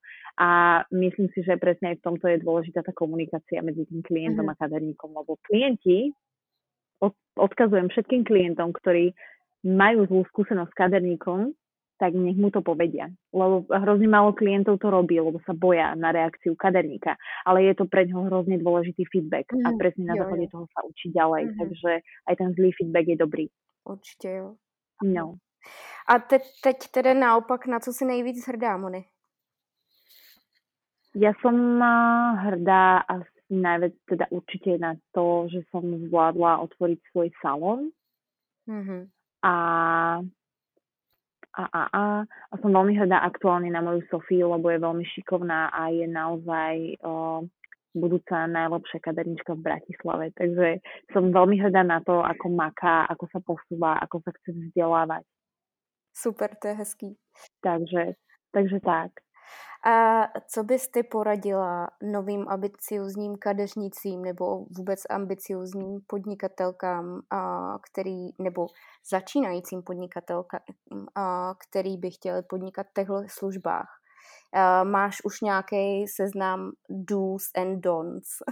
A myslím si, že presne aj v tomto je dôležitá tá komunikácia medzi tým klientom uh-huh. a kaderníkom, lebo klienti, od, odkazujem všetkým klientom, ktorí majú zlú skúsenosť s kaderníkom, tak nech mu to povedia. Lebo hrozne málo klientov to robí, lebo sa boja na reakciu kaderníka. Ale je to pre ňoho hrozne dôležitý feedback mm, a presne na základe toho sa učí ďalej. Mm-hmm. Takže aj ten zlý feedback je dobrý. Určite jo. No. A te, teď teda naopak, na co si nejvíc hrdá, Moni? Ja som hrdá asi najviac teda určite na to, že som zvládla otvoriť svoj salón. Mm-hmm. A A, a, a, a som veľmi hrdá aktuálne na moju Sofiu, lebo je veľmi šikovná a je naozaj o, budúca najlepšia kadernička v Bratislave. Takže som veľmi hrdá na to, ako maká, ako sa posúva, ako sa chce vzdelávať. Super, to je hezký. Takže, takže tak. A co bys ty poradila novým ambiciozním kadeřnicím nebo vůbec ambiciozním podnikatelkám, který, nebo začínajícím podnikatelkám, který by chtěli podnikat v těchto službách? Máš už nějaký seznam do's and don'ts?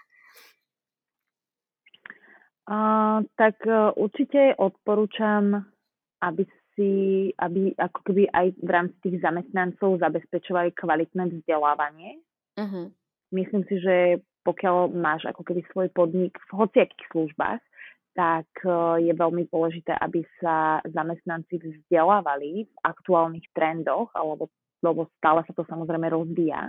Uh, tak uh, určite odporúčam, aby si, aby ako keby aj v rámci tých zamestnancov zabezpečovali kvalitné vzdelávanie. Uh-huh. Myslím si, že pokiaľ máš ako keby svoj podnik v hociakých službách, tak je veľmi dôležité, aby sa zamestnanci vzdelávali v aktuálnych trendoch, alebo, lebo stále sa to samozrejme rozvíja.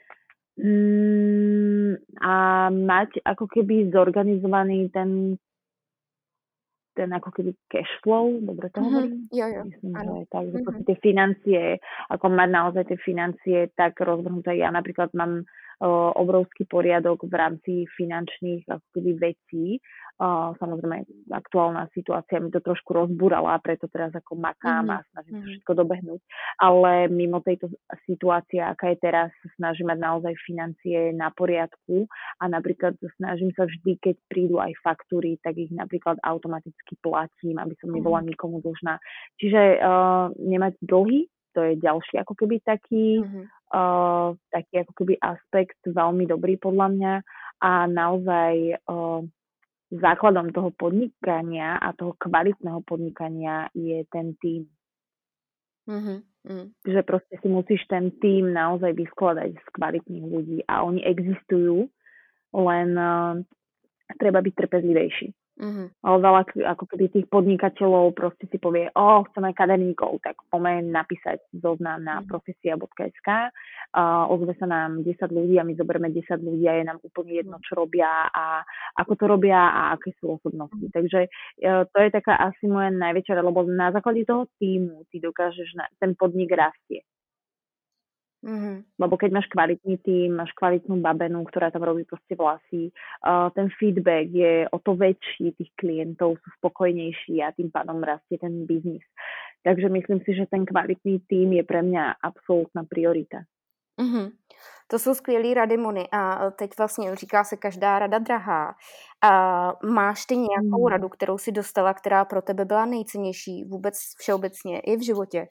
Mm, a mať ako keby zorganizovaný ten ten ako keby cash flow, dobre to hovorím? Mm-hmm. Jo, jo. Myslím, že aj tak, že mm-hmm. tie financie, ako mať naozaj tie financie tak rozvrhnuté. Ja napríklad mám uh, obrovský poriadok v rámci finančných ako keby vecí. Uh, samozrejme, aktuálna situácia mi to trošku rozbúrala, preto teraz ako makám mm-hmm. a snažím sa všetko dobehnúť. Ale mimo tejto situácie, aká je teraz, snažím mať naozaj financie na poriadku a napríklad snažím sa vždy, keď prídu aj faktúry, tak ich napríklad automaticky platím, aby som nebola nikomu dlžná. Čiže uh, nemať dlhy, to je ďalší ako keby taký, mm-hmm. uh, taký ako keby aspekt veľmi dobrý podľa mňa a naozaj uh, základom toho podnikania a toho kvalitného podnikania je ten tím. Mm-hmm. Mm. Že proste si musíš ten tím naozaj vyskladať z kvalitných ľudí a oni existujú, len uh, treba byť trpezlivejší. Mm-hmm. Ale veľa ako keby tých podnikateľov proste si povie, o, chceme kaderníkov, tak poďme napísať zoznam na Mm-hmm. profesia bodka es ká, uh, ozve sa nám desať ľudí a my zoberieme desať ľudí a je nám úplne jedno, čo robia a ako to robia a aké sú osobnosti. Mm-hmm. Takže uh, to je taká asi moja najväčšia, lebo na základe toho týmu ty dokážeš, na, ten podnik rastie. Mm-hmm. Lebo keď máš kvalitný tím, máš kvalitnú babenu, ktorá tam robí proste vlasy, uh, ten feedback je o to väčší, tých klientov sú spokojnejší a tým pádom rastie ten biznis. Takže myslím si, že ten kvalitný tím je pre mňa absolútna priorita. Mm-hmm. To jsou skvělý rady, Moni. A teď vlastně říká se každá rada drahá. A máš ty nějakou Mm. radu, kterou si dostala, která pro tebe byla nejcennější vůbec všeobecně i v životě?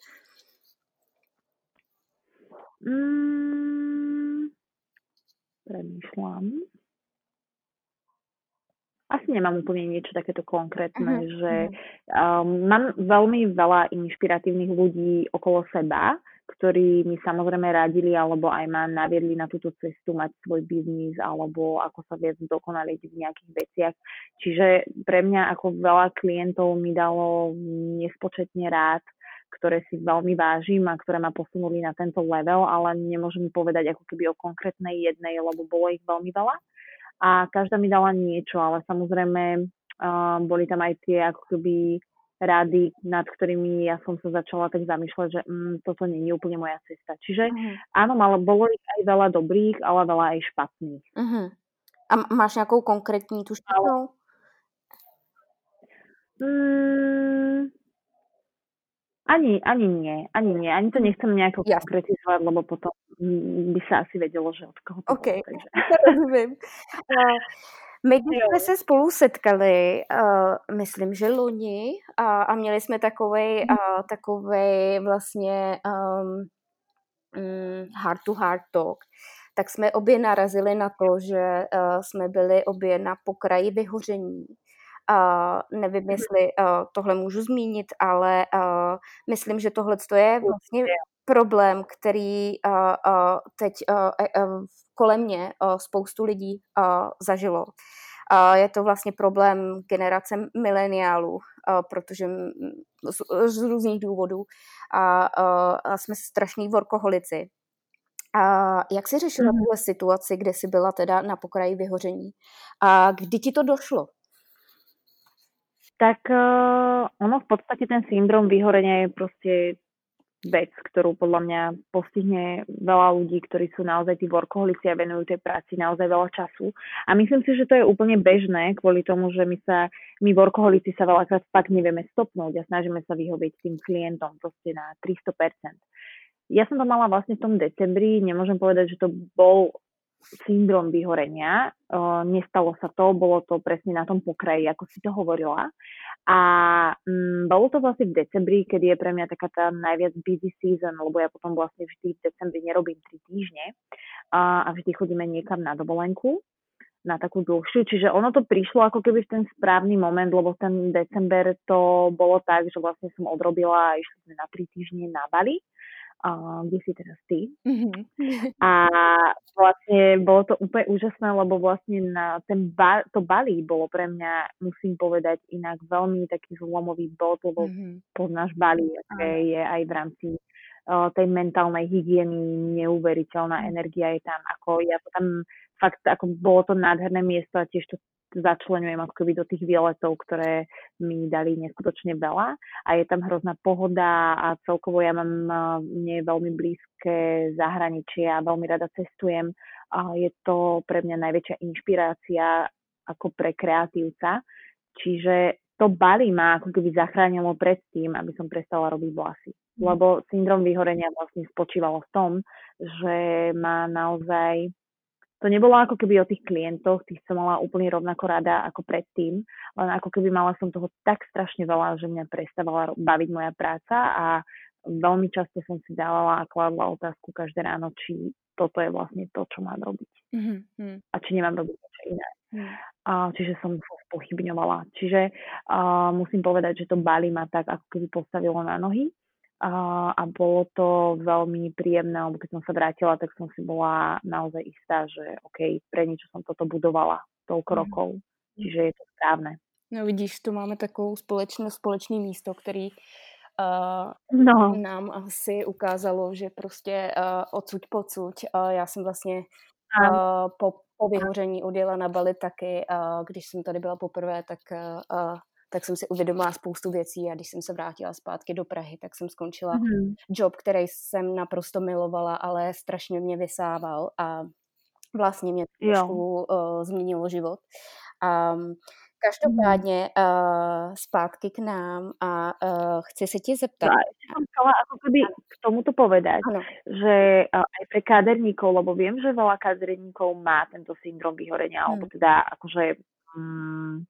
Mm, premýšľam. Asi nemám úplne niečo takéto konkrétne, uh-huh. že um, mám veľmi veľa inšpiratívnych ľudí okolo seba, ktorí mi samozrejme radili alebo aj ma naviedli na túto cestu mať svoj biznis alebo ako sa viac dokonaliť v nejakých veciach. Čiže pre mňa ako veľa klientov mi dalo nespočetne rád, ktoré si veľmi vážim a ktoré ma posunuli na tento level, ale nemôžem povedať ako keby o konkrétnej jednej, lebo bolo ich veľmi veľa. A každá mi dala niečo, ale samozrejme uh, boli tam aj tie ako keby rady, nad ktorými ja som sa začala tak zamýšľať, že mm, toto nie je úplne moja cesta. Čiže uh-huh. áno, ale bolo ich aj veľa dobrých, ale veľa aj špatných. Uh-huh. A máš nejakou konkrétní tu špatnou? Mm, ani, ani nie, ani nie. Ani to nechcem nejako ja. konkretizovať, lebo potom by sa asi vedelo, že od koho to okay. bolo. Takže. Rozumím. Uh, my když jsme se spolu setkali, uh, myslím, že loni, a, a měli jsme takovej, uh, takovej vlastně um, um, heart to heart talk, tak jsme obě narazili na to, že uh, jsme byli obě na pokraji vyhoření. Uh, nevím, jestli uh, tohle můžu zmínit, ale uh, myslím, že tohle je vlastně problém, který uh, uh, teď uh, uh, kolem mě uh, spoustu lidí uh, zažilo. Uh, je to vlastně problém generace mileniálů, uh, protože z, z různých důvodů a uh, jsme strašní workoholici. A jak jsi řešila mm. tuhle situaci, kde jsi byla teda na pokraji vyhoření? A kdy ti to došlo? Tak uh, ono v podstate ten syndrom vyhorenia je proste vec, ktorú podľa mňa postihne veľa ľudí, ktorí sú naozaj tí workoholici a venujú tej práci naozaj veľa času. A myslím si, že to je úplne bežné kvôli tomu, že my sa, my workoholici sa veľakrát fakt nevieme stopnúť a snažíme sa vyhovieť tým klientom proste na tristo percent. Ja som to mala vlastne v tom decembri, nemôžem povedať, že to bol syndrom vyhorenia. Uh, nestalo sa to, bolo to presne na tom pokraji, ako si to hovorila. A um, bolo to vlastne v decembri, kedy je pre mňa taká tá najviac busy season, lebo ja potom vlastne vždy v decembri nerobím tri týždne uh, a vždy chodíme niekam na dovolenku, na takú dlhšiu. Čiže ono to prišlo ako keby v ten správny moment, lebo ten december to bolo tak, že vlastne som odrobila a išli sme na tri týždne na Bali. Uh, kde si teraz ty. Mm-hmm. A vlastne bolo to úplne úžasné, lebo vlastne na ten ba- to Bali bolo pre mňa, musím povedať, inak veľmi taký zlomový bod, lebo mm-hmm. poznáš Bali, aké je aj v rámci uh, tej mentálnej hygieny neuveriteľná energia je tam. Ako ja to tam fakt, ako bolo to nádherné miesto a tiež to začleňujem ako keby do tých výletov, ktoré mi dali neskutočne veľa a je tam hrozná pohoda a celkovo ja mám mne veľmi blízke zahraničie a veľmi rada cestujem a je to pre mňa najväčšia inšpirácia ako pre kreatívca, čiže to Bali ma ako keby zachránilo pred tým, aby som prestala robiť vlasy, lebo syndrom vyhorenia vlastne spočívalo v tom, že ma naozaj to nebolo ako keby o tých klientoch, tých som mala úplne rovnako rada ako predtým, len ako keby mala som toho tak strašne veľa, že mňa prestávala baviť moja práca a veľmi často som si dávala a kladla otázku každé ráno, či toto je vlastne to, čo mám robiť. Mm-hmm. A či nemám robiť niečo iné. Hmm. A, čiže som to spochybňovala. Čiže a, musím povedať, že to Bali ma tak ako keby postavilo na nohy. A, a bolo to veľmi príjemné, lebo keď som sa vrátila, tak som si bola naozaj istá, že OK, pre niečo som toto budovala toľko Hmm. rokov. Čiže je to správne. No vidíš, tu máme takovou společné, společný místo, který uh, No. nám asi ukázalo, že prostě uh, odsuť pocuť. Uh, já jsem vlastně Áno. uh, po, po vyhoření odjela na Bali taky. Uh, když jsem tady byla poprvé, tak, uh, uh, tak jsem si uvědomila spoustu věcí a když jsem se vrátila zpátky do Prahy, tak jsem skončila Mm-hmm. job, který jsem naprosto milovala, ale strašně mě vysával a vlastně mě trošku uh, změnilo život. Um, Každopádně uh, zpátky k nám a uh, chci se ti zeptat. Ja som chcela ako keby k tomuto povedať, Ano. že uh, aj pre kaderníkov, lebo viem, že veľa kaderníkov má tento syndrom vyhorenia, Hmm. alebo teda akože um,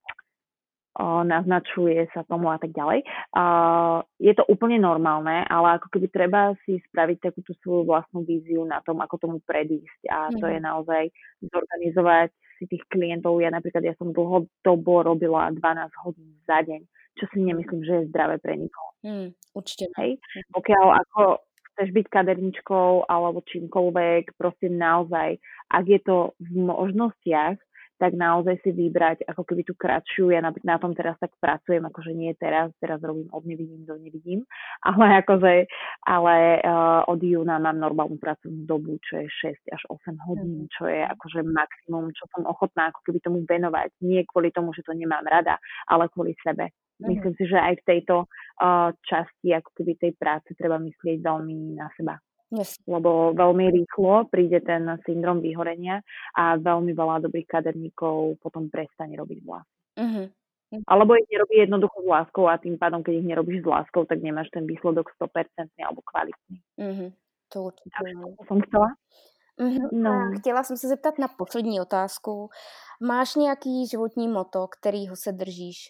uh, naznačuje sa tomu a tak ďalej. Uh, je to úplne normálne, ale ako keby treba si spraviť takúto svoju vlastnú víziu na tom, ako tomu predísť. A to Hmm. je naozaj zorganizovať si tých klientov. Ja napríklad, ja som dlhodobo robila dvanásť hodín za deň, čo si nemyslím, že je zdravé pre nikoho. Hmm, určite. Hej? Pokiaľ ako chceš byť kaderničkou alebo čímkoľvek, proste naozaj, ak je to v možnostiach, tak naozaj si vybrať ako keby tú kratšiu. Ja na, na tom teraz tak pracujem, akože nie teraz, teraz robím od nevidím do nevidím, ale akože, ale uh, od júna mám normálnu pracovnú dobu, čo je šesť až osem hodín, čo je akože maximum, čo som ochotná ako keby tomu venovať. Nie kvôli tomu, že to nemám rada, ale kvôli sebe. Myslím si, že aj v tejto uh, časti ako keby tej práce treba myslieť veľmi na seba. Yes. Lebo veľmi rýchlo príde ten syndrom vyhorenia a veľmi veľa dobrých kaderníkov potom prestane robiť vlasy. Mm-hmm. Alebo ich nerobí jednoducho s láskou a tým pádom, keď ich nerobíš s láskou, tak nemáš ten výsledok sto percent alebo kvalitný. Mm-hmm. To určitě. Takže to jsem chtěla. Mm-hmm. No. Chtěla jsem se zeptat na poslední otázku. Máš nějaký životní motto, kterýho se držíš?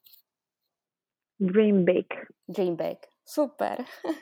Dream big. Dream big. Super.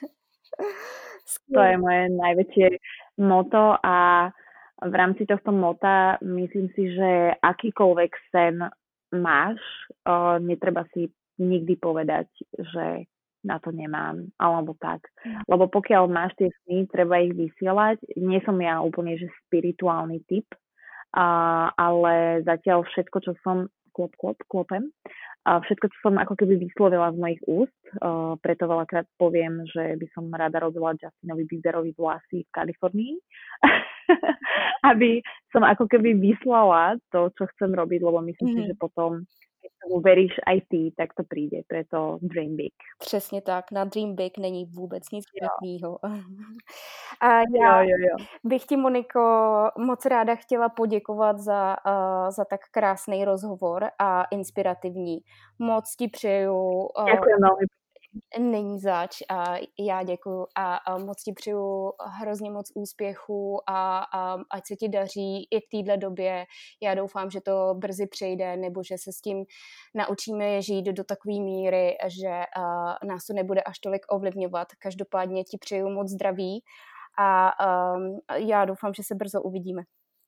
To je moje najväčšie moto a v rámci tohto mota myslím si, že akýkoľvek sen máš, o, netreba si nikdy povedať, že na to nemám, alebo tak. Lebo pokiaľ máš tie sny, treba ich vysielať. Nie som ja úplne, že spirituálny typ, a, ale zatiaľ všetko, čo som, klop, klop, klopem, a všetko, čo som ako keby vyslovila z mojich úst, uh, preto veľakrát poviem, že by som rada robila Justinovi Bieberovi vlasy v Kalifornii, aby som ako keby vyslala to, čo chcem robiť, lebo myslím mm. si, že potom, keď tomu veríš aj ty, tak to príde. Preto Dream Big. Přesně tak, na Dream Big není vůbec nic špatného. A já jo, jo, jo. bych ti, Moniko, moc ráda chtěla poděkovat za, uh, za tak krásný rozhovor a inspirativní. Moc ti přeju. Uh, Děkuji velmi. Není zač a já děkuju a, a moc ti přeju hrozně moc úspěchu a, a ať se ti daří i v téhle době. Já doufám, že to brzy přejde nebo že se s tím naučíme žít do takové míry, že uh, nás to nebude až tolik ovlivňovat. Každopádně ti přeju moc zdraví a um, já doufám, že se brzo uvidíme.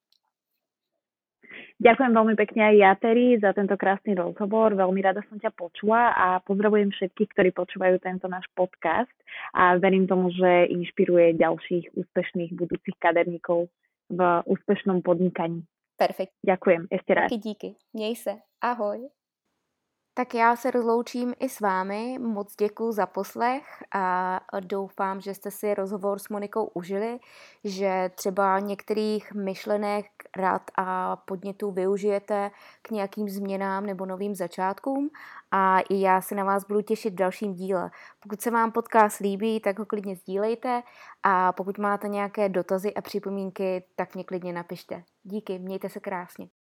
Ďakujem veľmi pekne aj ja, Terry, za tento krásny rozhovor. Veľmi rada som ťa počula a pozdravujem všetkých, ktorí počúvajú tento náš podcast a verím tomu, že inšpiruje ďalších úspešných budúcich kaderníkov v úspešnom podnikaní. Perfekt. Ďakujem, ešte raz. Taky díky. Měj se. Ahoj. Tak já se rozloučím i s vámi. Moc děkuji za poslech a doufám, že jste si rozhovor s Monikou užili, že třeba některých myšlenek, rad a podnětů využijete k nějakým změnám nebo novým začátkům a i já se na vás budu těšit v dalším díle. Pokud se vám podcast líbí, tak ho klidně sdílejte a pokud máte nějaké dotazy a připomínky, tak mě klidně napište. Díky, mějte se krásně.